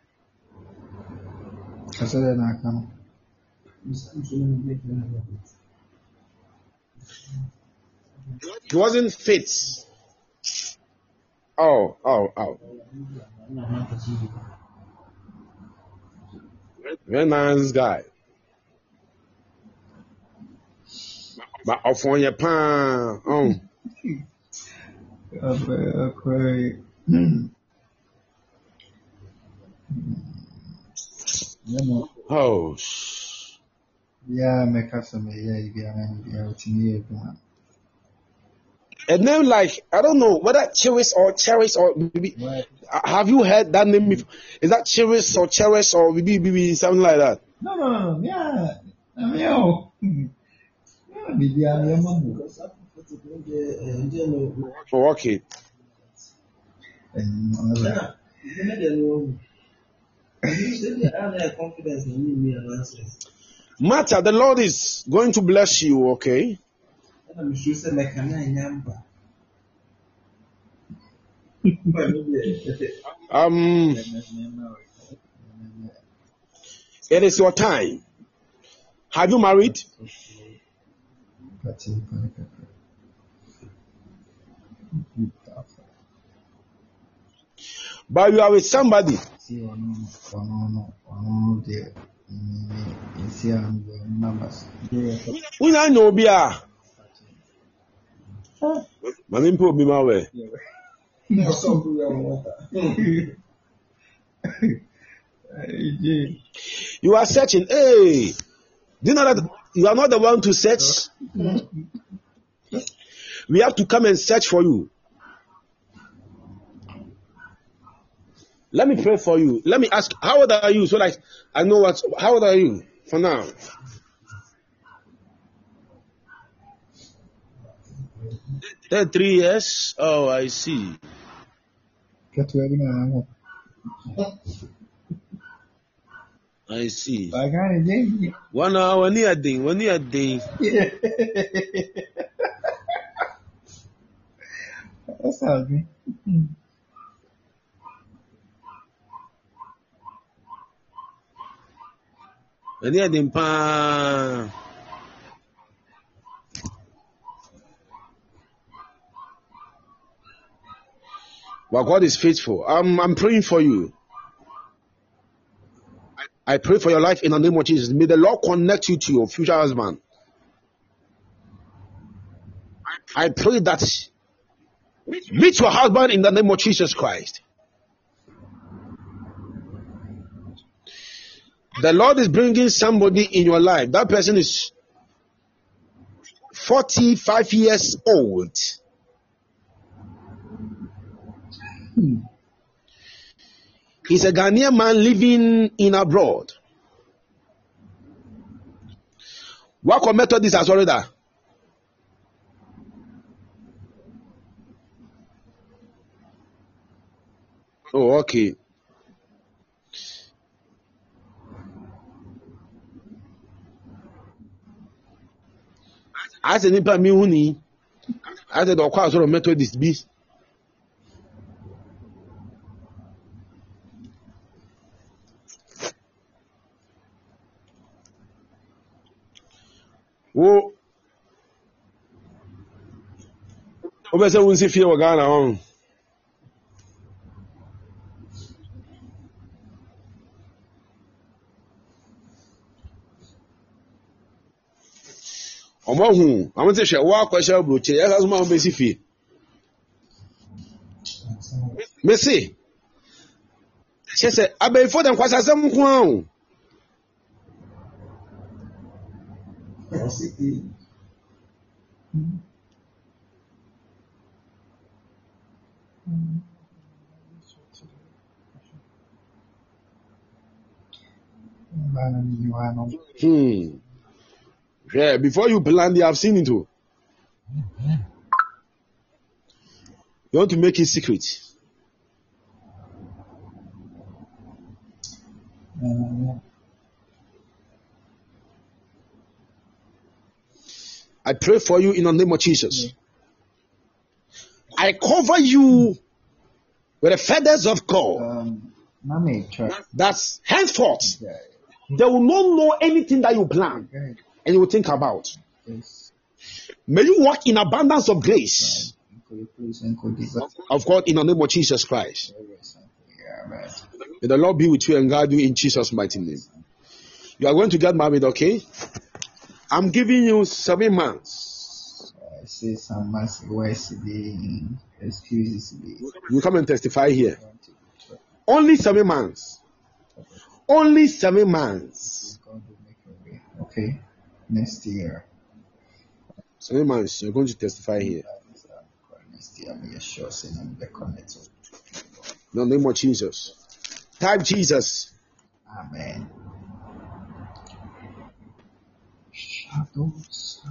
He wasn't fit. Oh. Very nice guy. But off on your pan. Oh. Yeah, make us some a name like, I don't know whether Cherish or maybe, have you heard that name before? Is that Cherish or maybe something like that? No. Yeah. Oh, okay. Martha, the Lord is going to bless you, okay? It is your time. Have you married? But you are with somebody. We don't know Bia. Manimpo be my way. You are searching. Hey, do you know that you are not the one to search? We have to come and search for you. Let me pray for you. Let me ask, how old are you? So like, I know how old are you for now? That 3 years? Oh, I see. I see. I got it, didn't 1 hour, one year day. That's all good. One year day, pa. But God is faithful. I'm praying for you. I pray for your life in the name of Jesus. May the Lord connect you to your future husband. I pray that meet your husband in the name of Jesus Christ. The Lord is bringing somebody in your life. That person is 45 years old. He's a Ghanaian man living in abroad. What method is already? Oh, okay. As a nipa mi huni, as a dokwa sort of Methodist be. Oh, obese wunsi fie wa Ghana on. Omo I want to share wa kwasha broche ya kaso ma mbesi fie. Messi. She say abey for dem kwasa asem nko an. Yeah, before you plan, they have seen it too. You want to make it secret. I pray for you in the name of Jesus. I cover you with the feathers of God. That's henceforth. They will not know anything that you plan and you will think about. May you walk in abundance of grace. Of God, in the name of Jesus Christ. May the Lord be with you and guide you in Jesus' mighty name. You are going to get married, okay? I'm giving you 7 months. I say some months excuses. You come and testify here. Only 7 months. Only 7 months. Okay. Next year. 7 months. You're going to testify here. Next year, I'm sure I'm the connect. In the name of Jesus. Type Jesus. Amen. Shadows.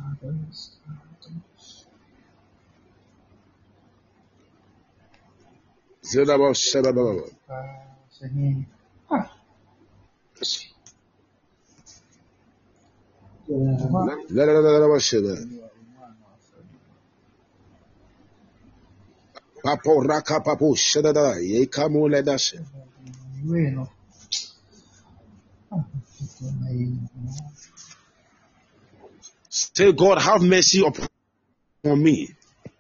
Say, God, have mercy upon me.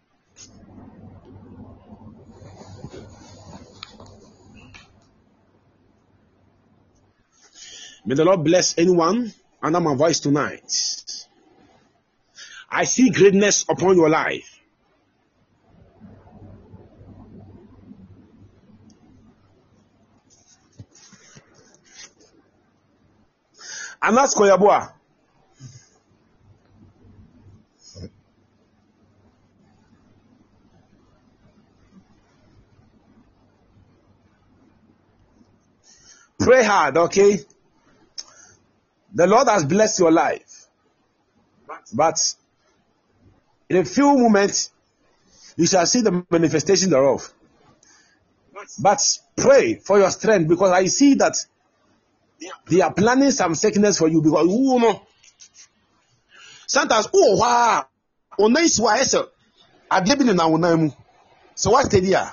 May the Lord bless anyone under my voice tonight. I see greatness upon your life. Anas Koyabua. Pray hard, okay? The Lord has blessed your life. But in a few moments, you shall see the manifestation thereof. But pray for your strength, because I see that they are planning some sickness for you, because you know sometimes wow on nice why so I believe in our name. So what did ya?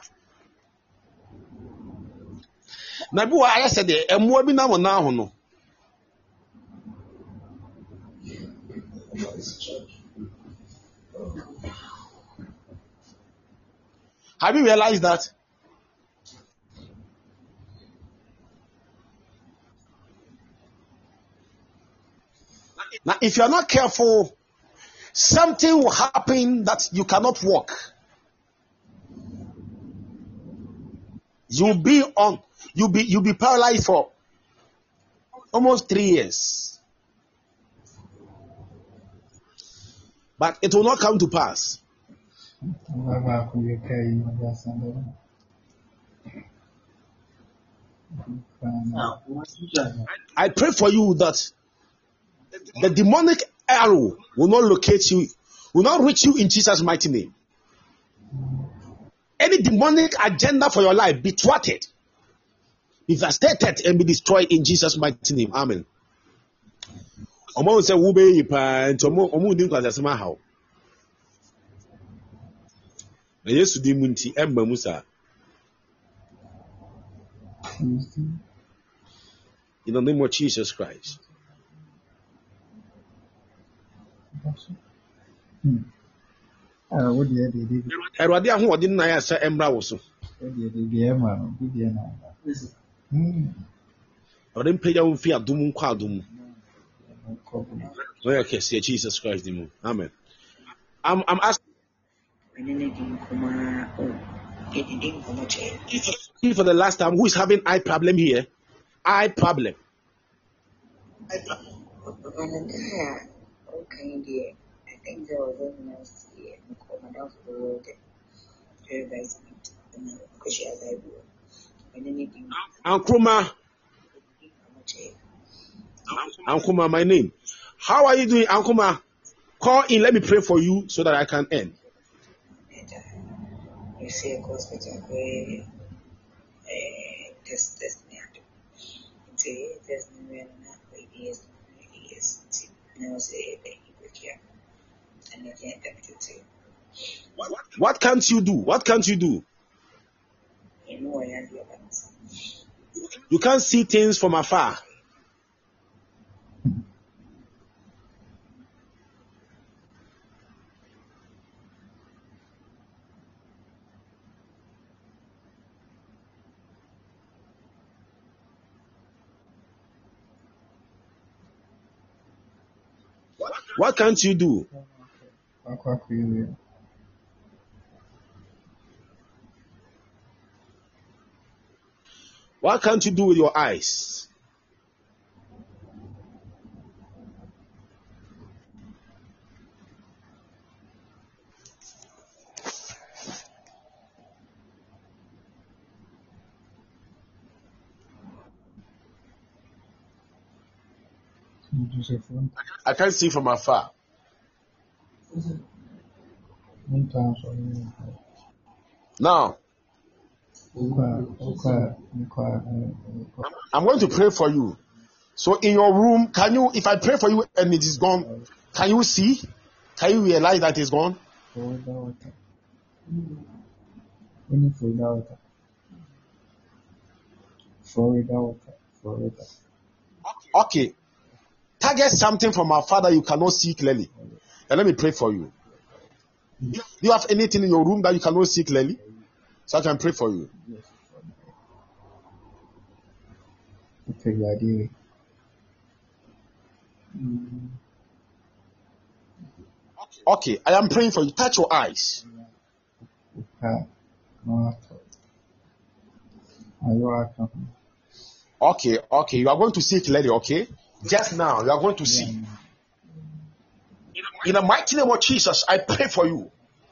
Nabu I said e mo bi na mo na ho no. Have you realized that? Now, if you are not careful, something will happen that you cannot walk. You'll be paralyzed for almost 3 years. But it will not come to pass. I pray for you that the demonic arrow will not locate you, will not reach you in Jesus' mighty name. Any demonic agenda for your life be thwarted, be devastated, and be destroyed in Jesus' mighty name. Amen. In the name of Jesus Christ. Erwadi ahu odi na ya sa embra wo so. Odi mpeja wo fi adum nkwa adum. No ya say Jesus Christ the moon. Amen. I'm asking for the last time, who is having eye problem here? Eye problem. Okay, dear. I think there was a nice year. Madam for the world. Very nice because she has Bible. And anything. Ankuma, my name. How are you doing, Ankuma? Call in. Let me pray for you so that I can end. You see a hospital where this there's no way enough ideas. Now say that you will care. And I can't do it. What can't you do? What can't you do? You know I have your hands. You can't see things from afar. What can't you do? What can't you do with your eyes? I can't see from afar. Now, I'm going to pray for you. So in your room, can you, if I pray for you and it is gone, can you see? Can you realize that it's gone? Okay. Target something from our Father you cannot see clearly. And let me pray for you. Do you have anything in your room that you cannot see clearly? So I can pray for you. Okay, I am praying for you. Touch your eyes. Okay, you are going to see clearly, okay? Just now, you are going to see. In the mighty name of Jesus, I pray for you.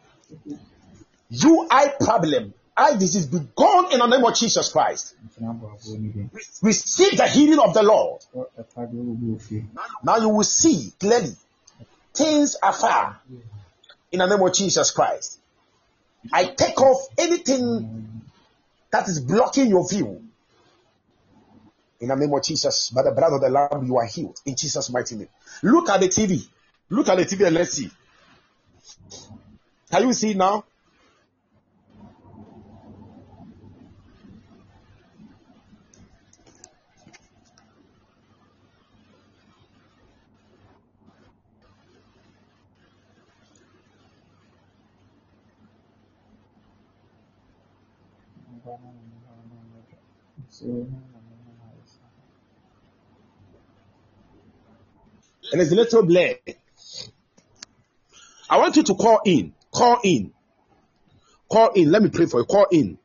You eye problem, eye disease, be gone in the name of Jesus Christ. Receive the healing of the Lord. Now you will see clearly. Things are far. In the name of Jesus Christ. I take off anything that is blocking your view, in the name of Jesus, by the blood of the Lamb, you are healed. In Jesus' mighty name. Look at the TV. Look at the TV and let's see. Can you see it now? And it's a little blur. I want you to call in. Call in. Call in. Let me pray for you. Call in.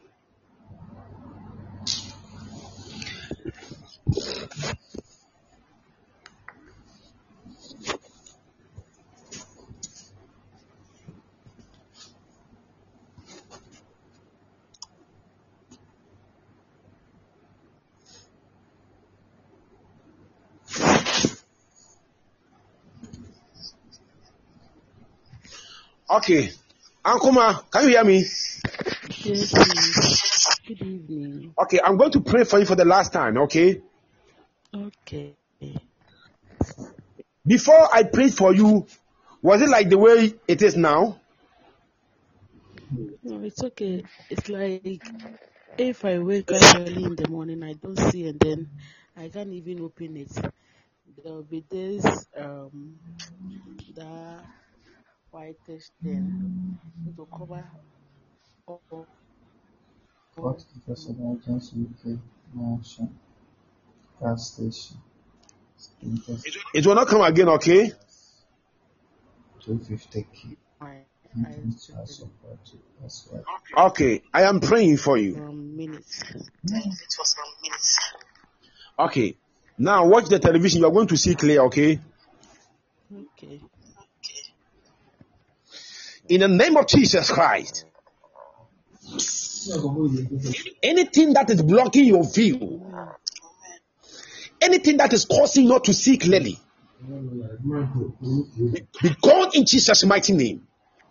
Okay. Ankuma, can you hear me? Yes, please. Good evening. Okay, I'm going to pray for you for the last time, okay? Okay. Before I prayed for you, was it like the way it is now? No, it's okay. It's like if I wake up early in the morning, I don't see, and then I can't even open it. There will be this the whitish thing. It will cover all. What because of emergency UK mansion gas station. It will not come again, okay? 250k. I Support as well. Okay, I am praying for you. minutes. Okay, now watch the television. You are going to see clear, okay? Okay. In the name of Jesus Christ, anything that is blocking your view, anything that is causing you not to see clearly, be gone in Jesus' mighty name.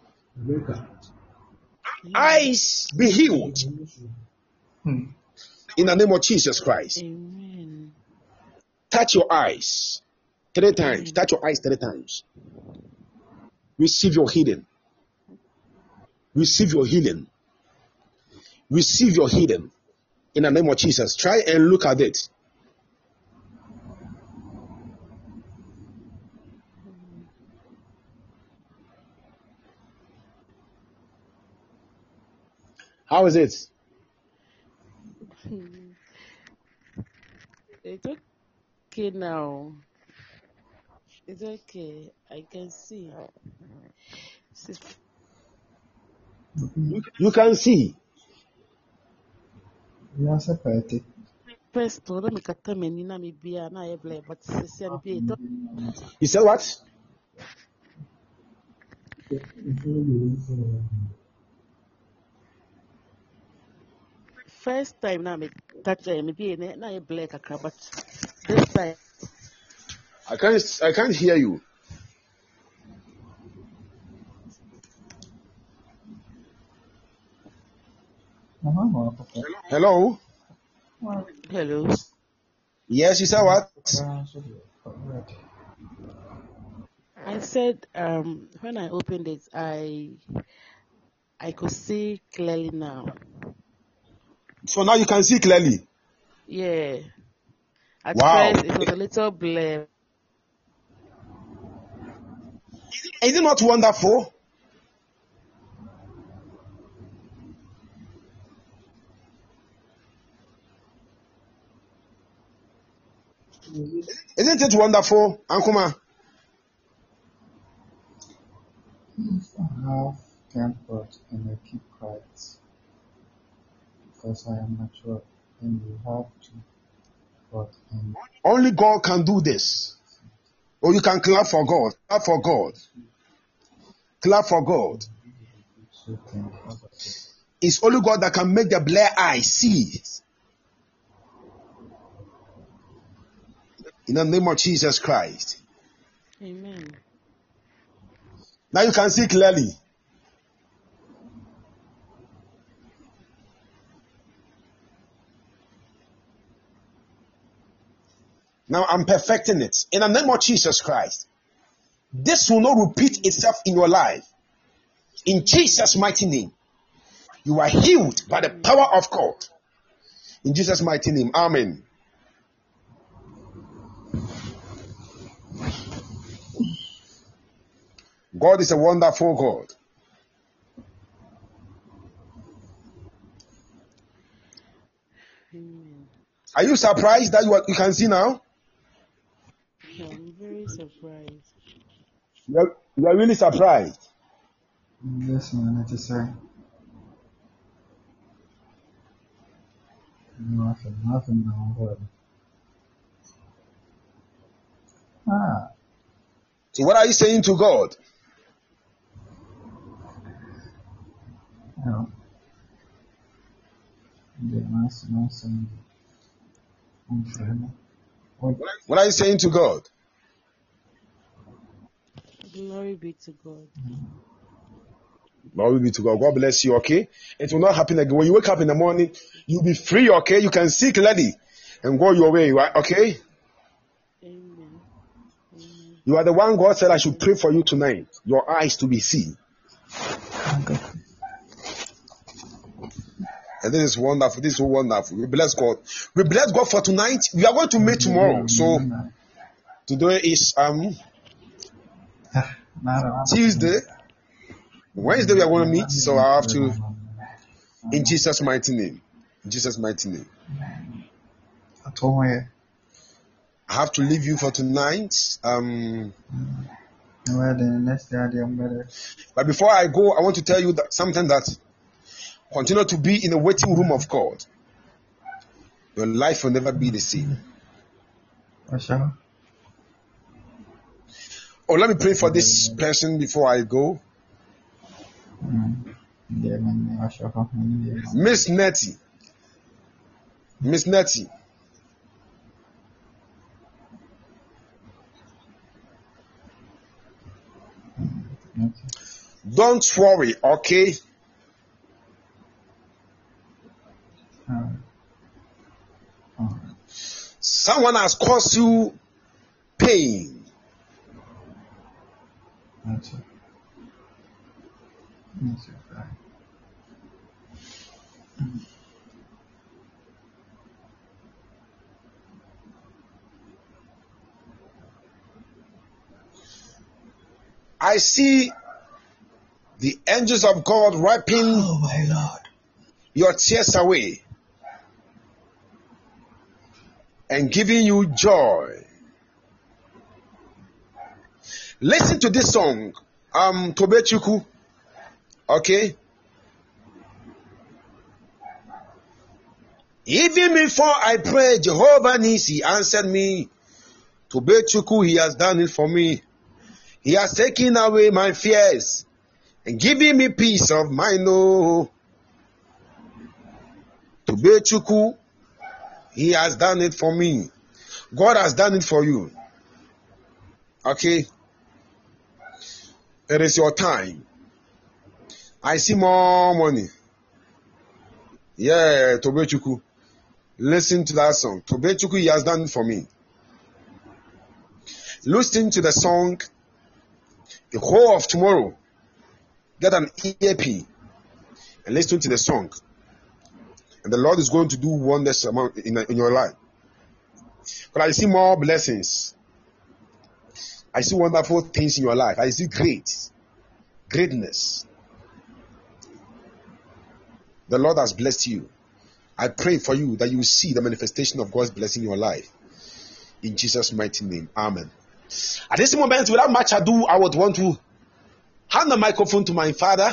Eyes be healed in the name of Jesus Christ. Amen. Touch your eyes 3 times. Touch your eyes 3 times. Receive your healing. Receive your healing. Receive your healing in the name of Jesus. Try and look at it. How is it? It's okay now. It's okay. I can see. You can see. You separated. First, let me cut them in my beer, and I have like, but You said what? First time now me touch maybe na I black a but this time I can't hear you. Hello? Hello. Yes, you said what? I said when I opened it I could see clearly now. So now you can see clearly. Yeah. At Wow. first it was a little blur. Is it not wonderful? Isn't it wonderful, Ankuma? If I have comfort and I keep quiet because I am mature, and you have to. But only God can do this. Or you can clap for God. Clap for God. Clap for God. It's only God that can make the blind eye see. In the name of Jesus Christ. Amen. Now you can see clearly. Now I'm perfecting it. In the name of Jesus Christ. This will not repeat itself in your life. In Jesus' mighty name. You are healed by the power of God. In Jesus' mighty name. Amen. God is a wonderful God. Amen. Are you surprised that you can see now? I'm very surprised. You are really surprised. Yes, man, it is say. Nothing now. What? Ah, So what are you saying to God? no. Yeah, nice. I'm fine. What are you saying to God? Glory be to God. Glory be to God. God bless you, okay? It will not happen again. When you wake up in the morning, you'll be free, okay? You can see clearly and go your way, right? Okay? Amen. Amen. You are the one God said I should pray for you tonight. Your eyes to be seen. Okay. And this is wonderful. This is so wonderful. We bless God. We bless God for tonight. We are going to meet tomorrow. So today is Tuesday. Wednesday we are going to meet. So I have to, in Jesus' mighty name. In Jesus' mighty name. I have to leave you for tonight. But before I go, I want to tell you that something that continue to be in the waiting room of God. Your life will never be the same. Oh, let me pray for this person before I go. Miss Nettie. Miss Nettie. Don't worry, okay? Someone has caused you pain. I see the angels of God wiping your tears away and giving you joy. Listen to this song, Tobechuku. Okay? Even before I prayed, Jehovah Nisi answered me. Tobechuku, he has done it for me. He has taken away my fears and given me peace of mind. Oh, Tobechuku, he has done it for me. God has done it for you. Okay? It is your time. I see more money. Yeah, Tobechuku. Listen to that song. Tobechuku, he has done it for me. Listen to the song the whole of tomorrow. Get an EAP and listen to the song. And the Lord is going to do wonders in your life. But I see more blessings. I see wonderful things in your life. I see greatness. The Lord has blessed you. I pray for you that you will see the manifestation of God's blessing in your life. In Jesus' mighty name. Amen. At this moment, without much ado, I would want to hand the microphone to my father,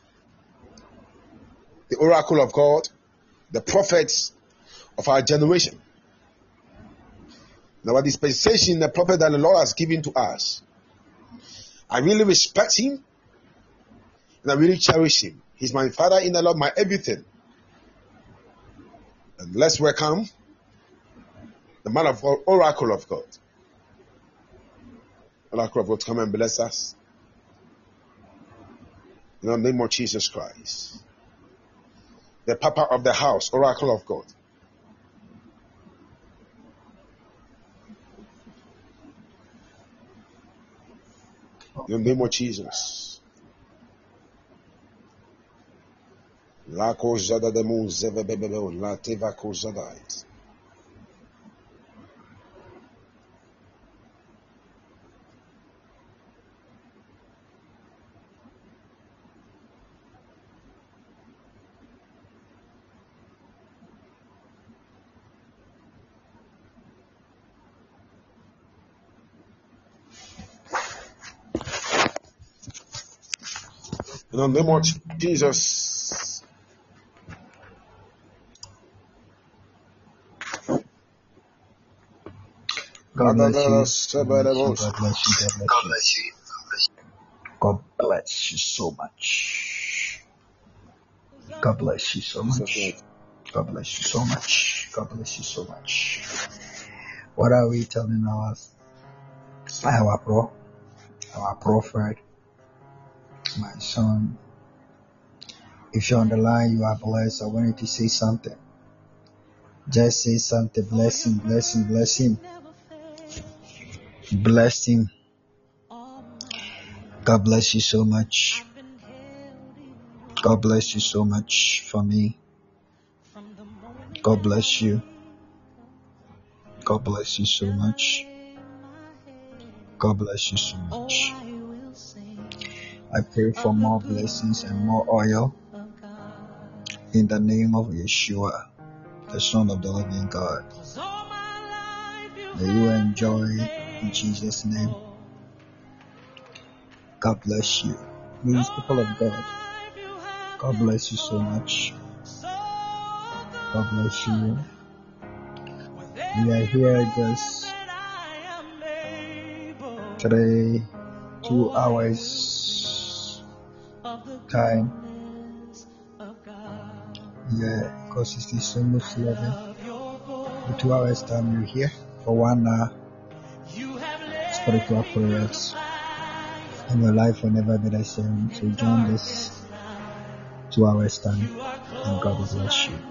the oracle of God, the prophets of our generation. Now, our dispensation, the prophet that the Lord has given to us, I really respect him and I really cherish him. He's my father in the Lord, my everything. And let's welcome the man of God, oracle of God. Oracle of God, come and bless us. In the name of Jesus Christ. The Papa of the house, oracle of God. In the name of Jesus. La kozada de mun zevebebebe la teva kozada. In the name of Jesus. God bless you. God bless you. God bless you so much. God bless you so much. God bless you so much. God bless you so much. What are we telling our prophet, my son? If you're on the line, you are blessed. I wanted to say something. Just say something. Bless him, bless him, bless him. Bless him. God bless you so much. God bless you so much for me. God bless you. God bless you so much. God bless you so much. I pray for more blessings and more oil in the name of Yeshua, the Son of the living God. May you enjoy in Jesus' name. God bless you. Please, people of God, God bless you so much. God bless you. We are here just 2 hours time. Yeah, because it's almost 11. For 2 hours time, you're here for 1 hour spiritual prayers, and your life will never be the same. So join this 2 hours time, and God will bless you.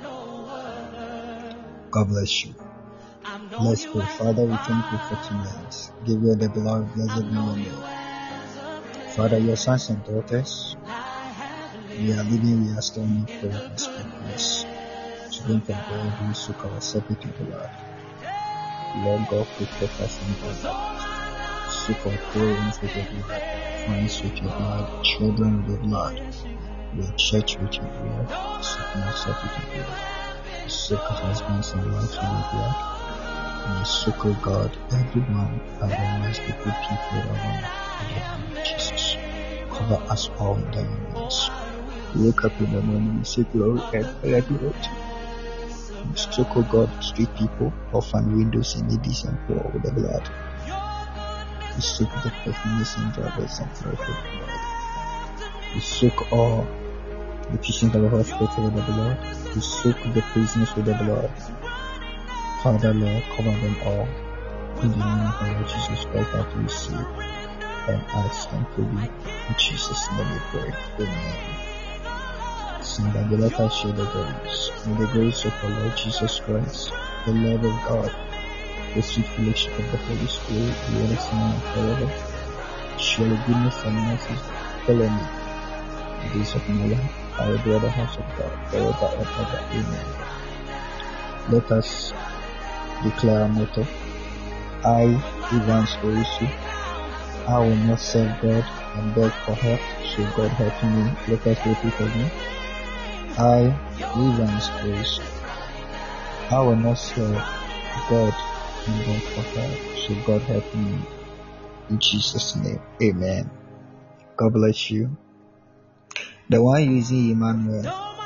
God bless you. Let's pray. Father, we thank you for tonight. Give you the glory, blessed be your name. Father, your sons and daughters, we are living, we are standing for your perspectives. Children of God, we soak our separate blood. Lord God, protect us and God. Soak our parents with your blood, friends with your blood, children with your blood, your church with your blood, soak myself with your blood. Soak husbands and wives with your blood. And soak, O God, everyone around us, the good people around us, Jesus. Cover us all in the name of Jesus. We wake up in the morning, we say glory and honor to you. We soak, O God, street people, orphan windows, and needies and poor with the blood. We soak the perfumes and drivers and fire with the blood. We soak all the patients of the hospital with the blood. We soak the prisoners with the blood. Father, Lord, cover them all. In the name of our Lord Jesus Christ, that we receive and ask and pray. In Jesus' name we pray. Amen. So that let us share the grace. May the grace of our Lord Jesus Christ, the love of God, the sweet fellowship of the Holy Spirit be with us now and forever. Surely goodness and mercy follow me the days of my life. I will dwell in the house of God forever and ever. Amen. Let us declare our motto. I, Evans Orisu, I will not serve God and beg for help, so God help me. Let us repeat again. I, Evans Orisu, I will not serve God and beg for help, so God help me. In Jesus' name, amen. God bless you. The one using Emmanuel,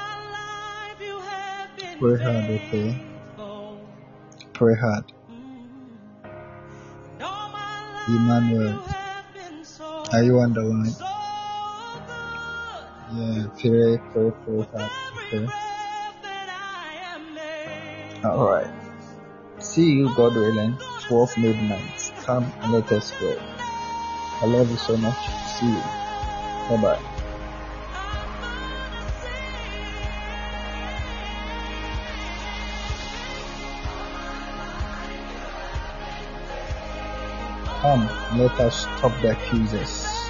pray hard, okay? Pray hard. Emmanuel, are you on the line? Yeah, pray hard, okay? Alright. See you, God willing, 12 midnight. Come and let us pray. I love you so much. See you. Bye-bye. Come, let us stop the accusers.